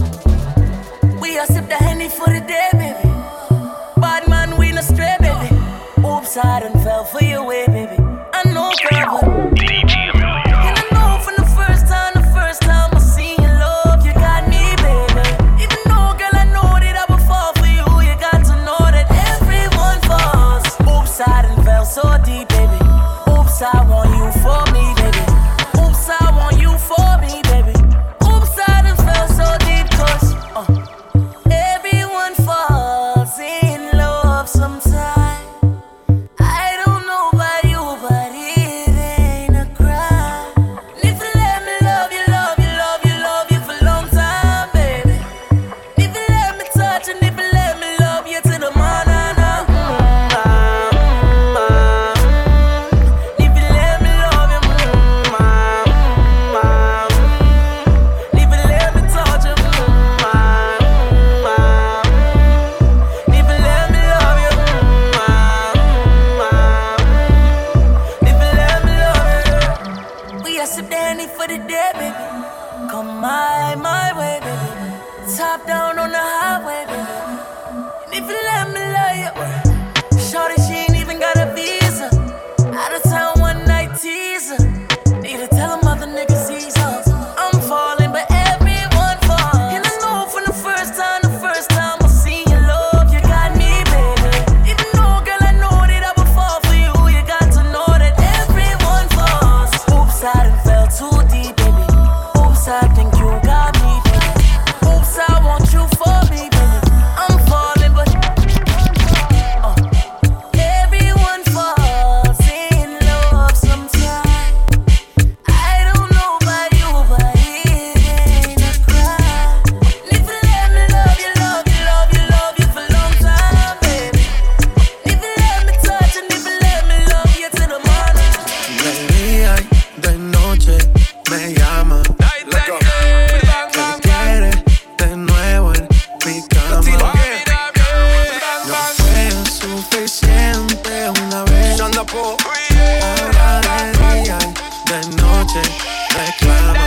We a sip the Henny for the day, baby. Bad man, we no stray, baby. Oops, I done fell for your way, baby. I know, girl, but and I know from the first time I seen your love, you got me, baby. Even though, girl, I know that I would fall for you, you got to know that everyone falls. Oops, I done fell so deep, baby. Oops, I want you for me, baby. Oops, I want you for me, baby. Oops, I done fell so deep, 'cause everyone falls in love sometime. I don't know about top down on the highway, baby. And if you let me love you, shorty, she ain't even got a visa. Out of town one night teaser. Need to tell them other niggas he's up. I'm falling, but everyone falls. And I know from the first time I seen your love, you got me, baby. Even though, girl, I know that I would fall for you. You got to know that everyone falls. Oops, I done fell too deep, baby. Oops, I think you got me, baby. Oops, I want you for me, baby. I'm falling, but everyone falls in love sometimes. I don't know about you, but it ain't a crime. If you let me love you, love you, love you, love you for a long time, baby. If you let me touch and if you let me love you till the morning. De día y de noche me llama. Que quiere de nuevo en mi cama. No fue suficiente una vez. Ahora de día y de noche reclama.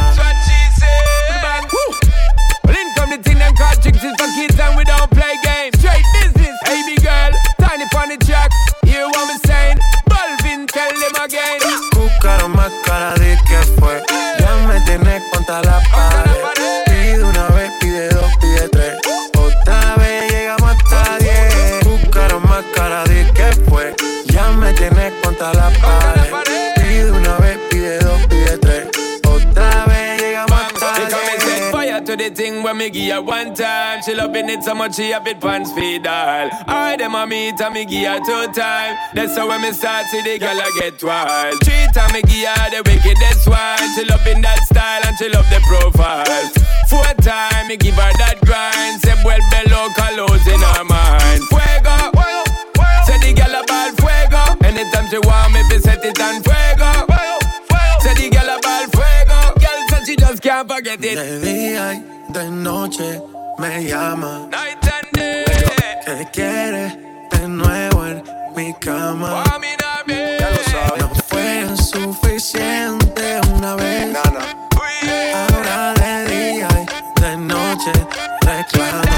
Well, in come the thing them call tricks is for kids and we don't play games. Straight business, hey big girl, tiny pon the track. Hear what me saying? Balvin, tell them again. Buscaron más cara de que fue. Ya me tienes contra la pared. Pide una vez, pide dos, pide tres. Otra vez llegamos hasta 10. Buscaron más cara de que fue. Ya me tienes contra la pared. Pide una vez, pide dos, pide tres. Otra vez llegamos hasta 10. Fire to the thing when me give her one time. She loving it so much she have it pants feed all. I dem a meet and me give her 2 times. That's how when me start see the girl I get wild. 3 times me give her the wickedest one. She loving that style and she love the profile. 4 times me give her that grind. Say vuelve loca, lose in her mind. Fuego, say the girl about fuego. Anytime she want me, fi set it on fuego. Say the girl about fuego. Girl said she just can't forget it. De día y de noche me llama. Night and day. Que quiere de nuevo en mi cama. Ya lo sabes. No fue suficiente una vez. Ahora de día y de noche reclama.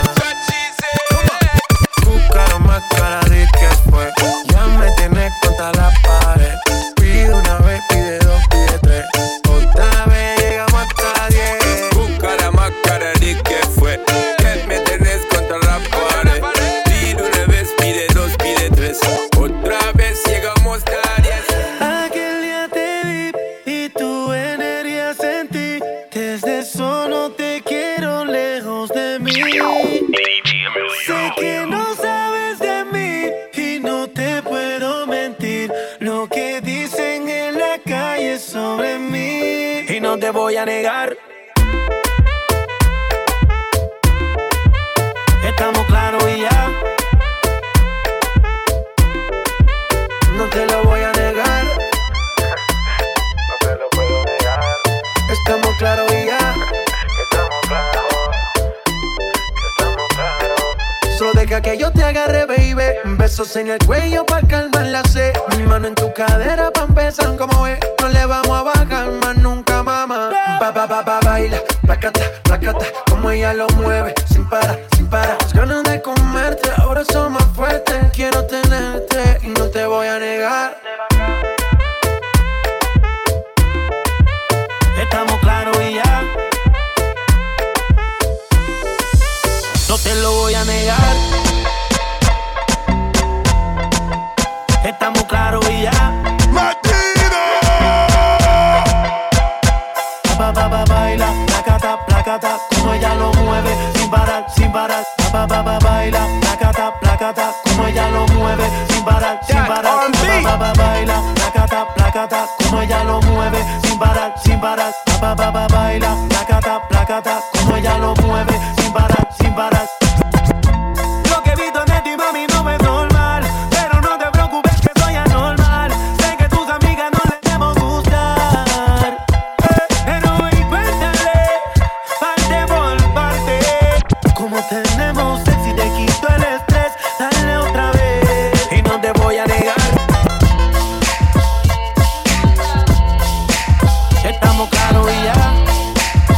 Buscaron más cara de que fue. Ya me tienes contra la pared. Pide una vez, pide dos, pide tres. Otra vez llegamos hasta 10. Busca más cara de que fue. Que me tenés contra la pared. Pide una vez, pide dos, pide tres. Otra vez llegamos hasta 10. Aquel día te vi y tu energía sentí. Desde eso no te quiero lejos de mí. Sé que no sabes de mí y no te puedo mentir. Lo que dicen en la calle sobre mí. Y no te voy a negar. Estamos claros y ya. No te lo voy a negar. No te lo puedo negar. Estamos claros y ya. Estamos claros. Solo deja que yo te agarre, baby. Besos en el cuello pa' calmar la sed. Mi mano en tu cadera pa' empezar, como ves. No le vamos a bajar más nunca, mamá. Baila, placata, placata. Como ella lo mueve, sin parar, sin parar. Las ganas de comerte, ahora son más fuertes. Quiero tenerte y no te voy a negar. Estamos claros y ya. No te lo voy a negar. Estamos claros y ya. Baila, placata, placata, como ella lo mueve, sin parar, sin parar. Baila, placata, placata, como ella lo mueve, sin parar, sin parar. Baila, placata, placata, como ella lo mueve, sin parar, sin parar. Baila, placata, placata, como ella lo mueve, sin parar, sin parar. Lo que he visto de ti, mami, no es normal, pero no te preocupes que soy anormal. Sé que tus amigas no les debemos gustar, pero cuéntale, parte por parte. Como tenemos sexy, te quito el estrés, dale otra vez. Y no te voy a negar. Estamos claros y ya.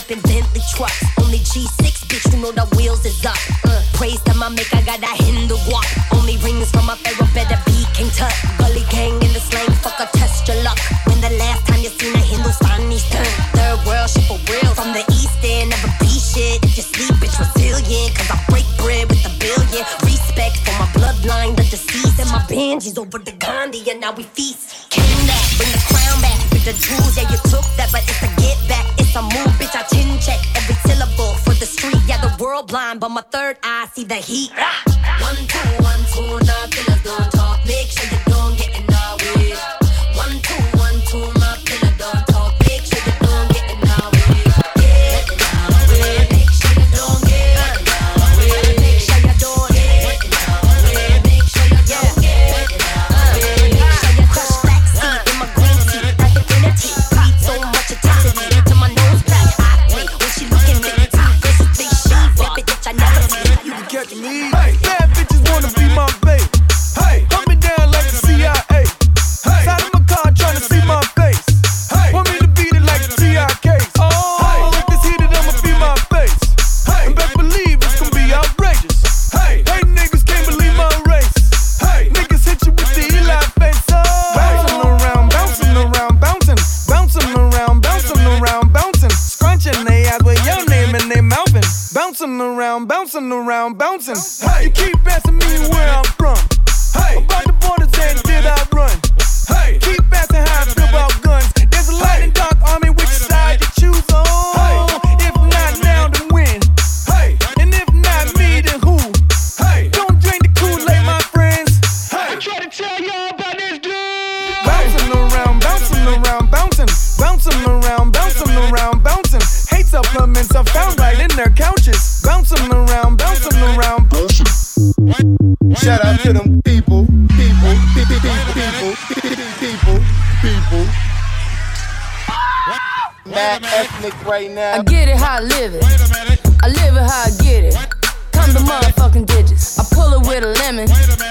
whip and Bentley trucks. Only G6, bitch, you know the wheels is up. Praise to my maker, got that Hindu walk. Only rings from my pharaoh, better be King Tut. Gully gang in the slang, fuck a test your luck. When the last time you seen a Hindustani's turn? Third world shit for real. From the east end, never be shit. If you sleep, bitch, resilient. Cause I break bread with a billion. Respect for my bloodline, the deceased. And my Benjis over the Gandhi, and now we feast. King that, bring the crown back. With the jewels, yeah, you took that, but it's a get back. It's a move, bitch, I chin check every syllable for the street. Yeah, the world blind, but my third eye see the heat. 1, 2, 1, 2, now killers don't talk. Make sure you don't get in our way. 1, 2, 1, 2, my killer don't talk. Make sure you don't get in our way. Get in our way. Make sure you don't get in our way. Make sure you don't get in our way. Make sure you don't get in our way. Make sure you crush black seed in my green tea. Like infinity. Breathe so much intensity to my nose black. I play when she looking at me. This is big she whip it, bitch, I never see. You can catch me. Hey, bad bitches wanna be my babe. Hey, hunt me down like the CIA. Hey, side of my car tryna see my face. Hey, want me to beat it like the TIKs. Oh, hey, if this heated, I'ma be my face. Hey, and best believe it's gonna be outrageous. Hey, niggas can't believe my race. Hey, niggas hit you with the Eli face. Oh, bouncing around, bouncing around, bouncing, bouncing around, bouncing around, bouncing, scrunching they eyes with your name and they mouthing. Bouncing around, bouncing around, bouncing. Hey, you keep asking me where I'm from. Hey, about the borders and did I run? Hey, keep asking how I feel about guns. There's a light and dark army, which side you choose on? Hey, if not now, then when? Hey, and if not me, then who? Hey, don't drink the Kool-Aid, my friends. Hey, I try to tell y'all about this dude. Bouncing around, bouncing around, bouncing, bouncing around, bouncing around, bouncing. Hate supplements are found right in their couches. Bouncing around, bouncing around, bouncing. Shout out to them people. Mad ethnic right now. I get it how I live it. I live it how I get it. Come the motherfucking digits. I pull it with a lemon.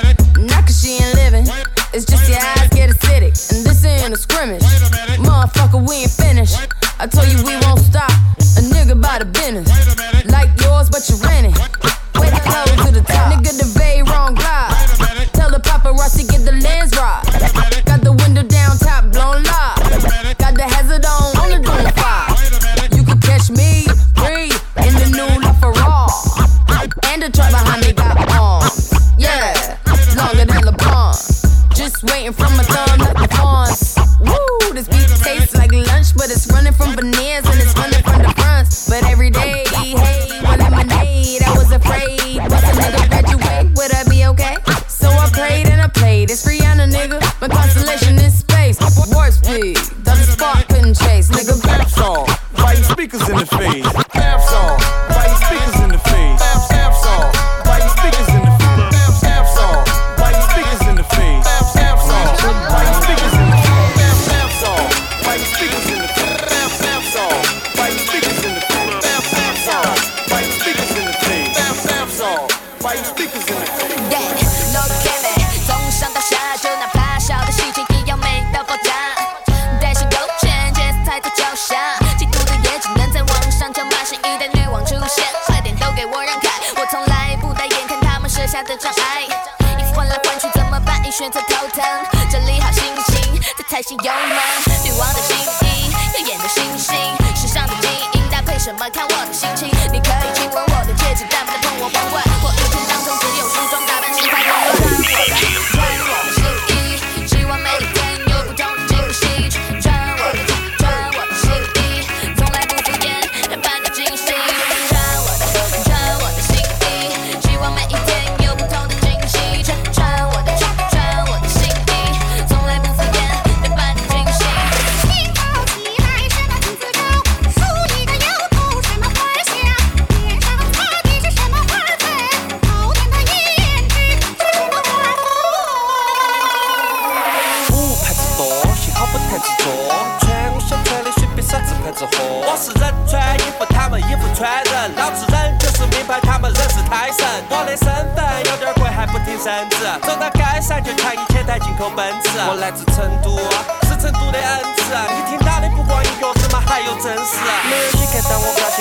Not cause she ain't living. It's just your eyes get acidic. And this ain't a scrimmage. Motherfucker, we ain't finished. I told you we won't stop. A nigga by the business. Like yours, but you rent it. Way to close to the top. Nigga, the very wrong glide. Tell the paparazzi get the lens right. Got the window down, top blown live. Got the hazard on the doom fire. You can catch me, breathe, in the new LaFerrari. And the truck behind me got arms. Yeah, longer than LeBron. Just waiting for my thumb like the fawns. Woo, this beat tastes like lunch, but it's running from veneers and it's running from the fronts. But every day, hey, with lemonade, I was afraid. Once a nigga graduate, would I be okay? So I prayed and I played. It's Rihanna, nigga. My constellation in space. Warp speed, the spark couldn't chase. Nigga, Bap song, fighting speakers in the face. Bap song, fighting speakers in the face. Bap song, fighting speakers in the face. Bap song, fighting speakers in the face. Bap song, fighting speakers in the face. Bap song, fighting speakers in the face. Bap song, fighting speakers in the face. Bap song, fighting speakers in the face. Bap song, fighting speakers in the face. Yeah, 너도 깨매. 从上到下，就哪怕小的事情一样没到爆炸。但是有权，节奏太过脚下，嫉妒的也只能在网上叫骂声。一旦女王出现，快点都给我让开！我从来不带眼看他们设下的障碍。衣服换来换去怎么办？一选择头疼。整理好心情，在台上有吗？女王的心意，耀眼的星星，时尚的基因搭配什么？看我的心情。你可以亲吻我的戒指，但不能碰我皇冠。我一天当中只有梳妆打扮，心态混乱。穿我的新衣，希望每一天有不同的惊喜。穿我的新衣，从来不敷衍，但扮得惊喜。穿我的新衣，希望每一天有不同的惊喜。穿我的新衣，从来不敷衍，但扮得惊喜。 你跑起来什么金丝狗，梳你的油头什么花香，脸上擦的是什么花粉，好点的胭脂是什么花粉。 不排斥多，幸好不太执着。穿我想穿的随便啥子牌子货。我是人穿衣服，他们衣服穿人。老子人就是名牌，他们人是胎神。我的身份有点贵，还不挺身子。走到街上就抢1000台进口奔驰。我来自成都，是成都的恩赐。你听到的不光音乐，怎么还有真实？没有你看到我表现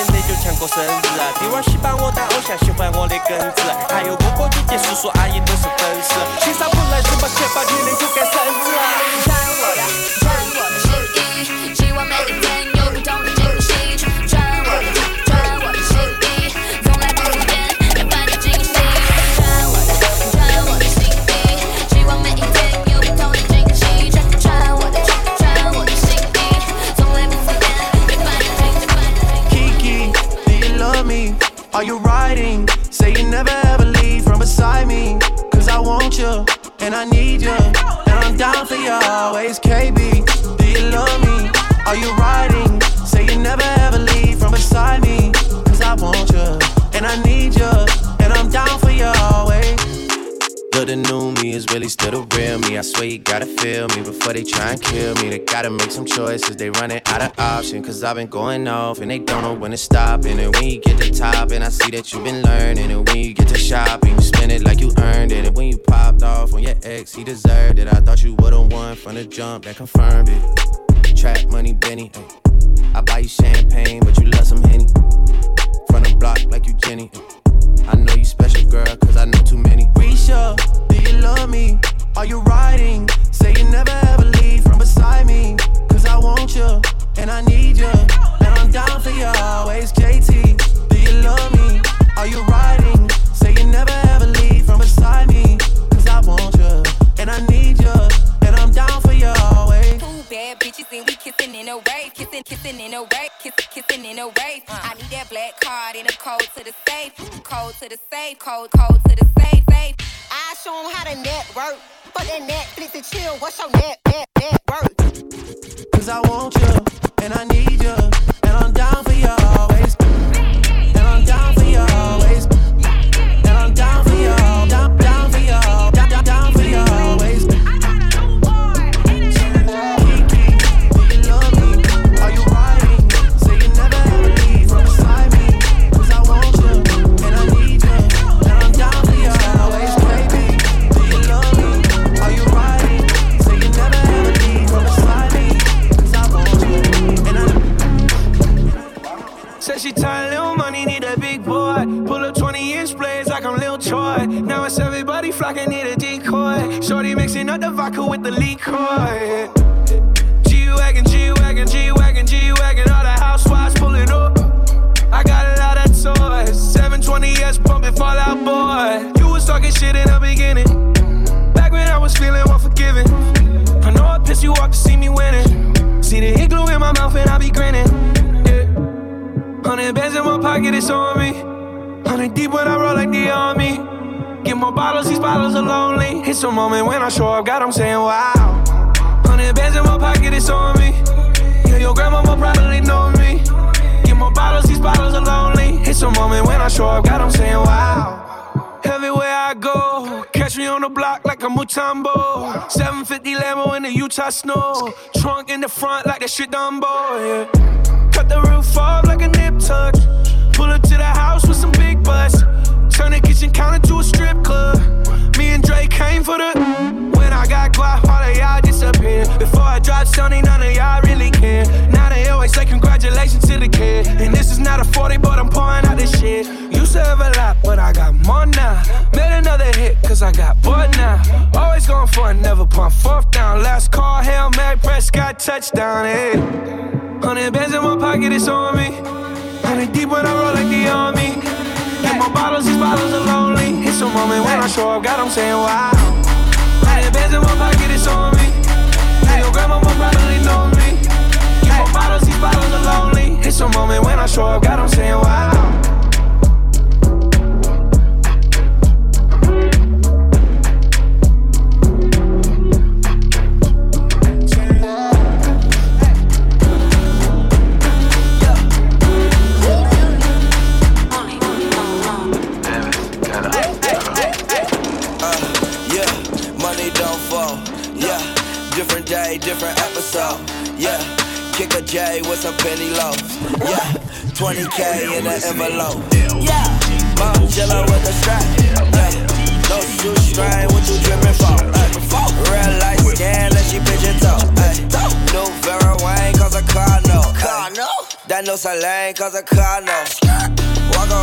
光喜欢我的偶像，喜欢我的根子，还有哥哥姐姐叔叔阿姨都是粉丝。欣赏不来什么钱包你能有干孙子？ 穿我的新衣，希望每一天有不同的惊喜。穿我的新衣，从来不敷衍，要伴你惊喜。穿我的新衣，希望每一天有不同的惊喜。穿我的新衣，从来不敷衍，要伴你惊喜。 Kiki, do you love me? Are you riding? Say you never ever leave from beside me. Cause I want you, and I need you, and I'm down for you always. KB, do you love me? Are you riding? Say you never ever leave from beside me. Cause I want you, and I need you, and I'm down for you always. But the new me is really still the real me. I swear you gotta feel me before they try and kill me. They gotta make some choices, they running out of options. Cause I've been going off and they don't know when to stop. And then when you get to top and I see that you've been learning. And when you get to shopping, you spend it like you earned it. And when you popped off on your ex, he deserved it. I thought you would've won from the jump, that confirmed it. Trap money, Benny, ay. I buy you champagne, but you love some Henny. From the block like you Jenny, ay. I know you special, girl, cause I know too many. Risha, do you love me? Are you riding? Say you never ever leave from beside me. Cause I want you, and I need you, and I'm down for you always. JT, do you love me? Are you riding? Say you never ever leave from beside me. Cause I want you, and I need you, and I'm down for you always. Two bad bitches and we kissing in a rave, kissing in a rave, kissing in a rave. I need that black card and a code to the safe, code to the safe, code to the safe. I show 'em how to network. For that Netflix and chill, what's your net worth? Cause I want you, and I need you, and I'm down for you always. And I'm down for you always. And I'm down for you, down for you, down for you always. Said she tired, little money, need a big boy. Pull up 20-inch blades like I'm Lil Troy. Now it's everybody flocking, need a decoy. Shorty mixing up the vodka with the liquor. G-Wagon, G-Wagon, G-Wagon, G-Wagon. All the housewives pulling up. I got a lot of toys. 720S pumping Fallout Boy. You was talking shit in the beginning. Back when I was feeling unforgiving. I know I pissed you off to see me winning. See the hit glue in my mouth and I be grinning. 100 bands in my pocket, it's on me. 100 deep when I roll like the army. Get more bottles, these bottles are lonely. It's a moment when I show up, God, I'm saying wow. 100 bands in my pocket, it's on me. Yeah, your grandmama probably know me. Get more bottles, these bottles are lonely. It's a moment when I show up, God, I'm saying wow. Everywhere I go, catch me on the block like a Mutombo. 750 Lambo in the Utah snow. Trunk in the front like that shit Dumbo, yeah. Cut the roof off like a nip tuck. Pull up to the house with some big butts. Turn the kitchen counter to a strip club. Me and Drake came for the. When I got guap, all of y'all disappeared. Before I dropped Sony, none of y'all really care. Now they always say congratulations to the kid. And this is not a 40, but I'm pouring out this shit. Used to have a lot, but I got more now. Made another hit, cause I got bored now. Always going for it, never pump fourth down. Last call, Hail Mary, Prescott, touchdown, hey. 100 bands in my pocket, it's on me. 100 deep when I roll like the army. Get more bottles, these bottles are lonely. It's a moment when I show up, God, I'm saying wow. 100 bands in my pocket, it's on me. Yeah, your grandmama probably know me. Get more bottles, these bottles are lonely. It's a moment when I show up, God, I'm saying wow. Different episode, yeah. Kick a J with some penny loaves, yeah. 20K in an envelope, yeah. Mom chillin' with the strap, yeah. No shoestring, what you drippin' for? Real light skin, let she pigeon toe, New Vera Wayne, cause a car no. That no Salane, cause a car no. Walk around.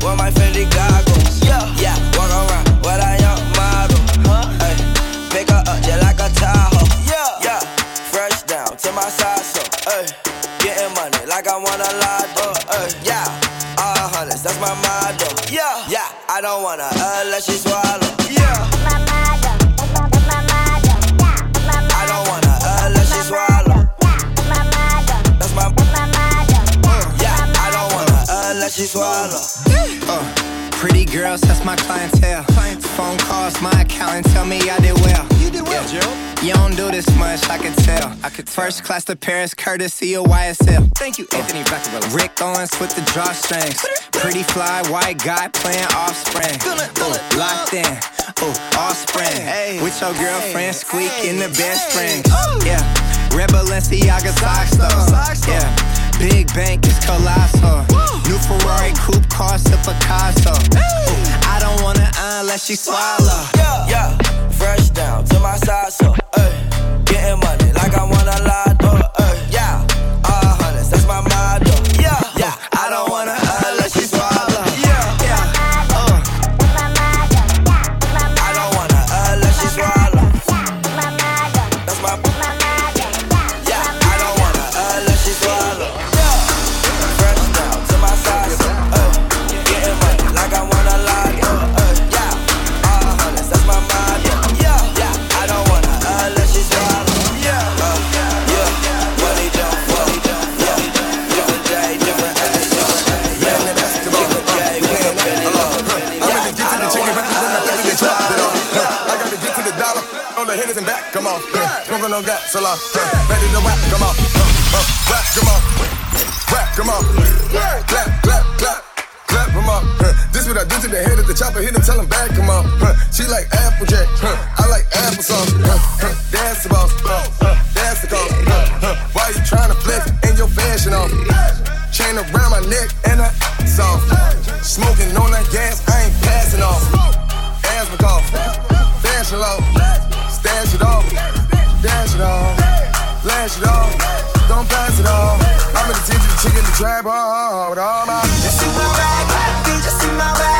with my Fendi goggles. Yeah, walk around with a young model. Ay, pick her up just like a Tahoe. Yeah, fresh down to my side so. Ay, getting money like I want a lotto. Yeah, all hundreds, that's my motto. Yeah, I don't wanna let she swallow. Yeah, my motto, that's my motto. I don't wanna let she swallow. My motto, that's my motto. Yeah, I don't wanna let she swallow. Pretty girls, that's my clientele. Phone calls, my accountant tell me I did well. You did well, Joe. You don't do this much, I could tell. First class to Paris, courtesy of YSL. Thank you, Anthony Vaccarello. Rick Owens with the drawstrings. Pretty fly, white guy playing Offspring. Ooh, locked in, ooh, Offspring. Hey. With your girlfriend, squeak in the bed spring. Yeah, Red Balenciaga socks though. Yeah, Big Bank is colossal. New Ferrari coupe cost a Picasso. Ooh, I don't wanna unless she swallow. Yeah, fresh down to my side so. Getting money like I want a lotto. Yeah, all hundreds, that's my motto. Yeah, I don't wanna unless she swallow. Yeah, I don't wanna unless she swallow. That's my yeah, I don't wanna unless she swallow. Fresh down to my side so. Getting money like I want a lotto. Yeah, all hundreds, that's my motto. Yeah, I don't wanna unless she swallow. And back, come on, smoking on gas, so long, ready to whack, come on, whack, come on, whack, come on, clap, clap, clap, clap, come on. This what I do to the head of the chopper, hit him, tell him back, come on. She like Applejack, I like applesauce. That's the boss, that's the cost. Why you trying to flex in your fashion off? Chain around my neck and I soft. Smoking on that gas, I ain't passing off. Asthma cough, fashion low. Dash it off, dash it off, flash it off, don't pass it off. I'm in the attention to chicken the trap, with all my. You see my bag, you just see my bag.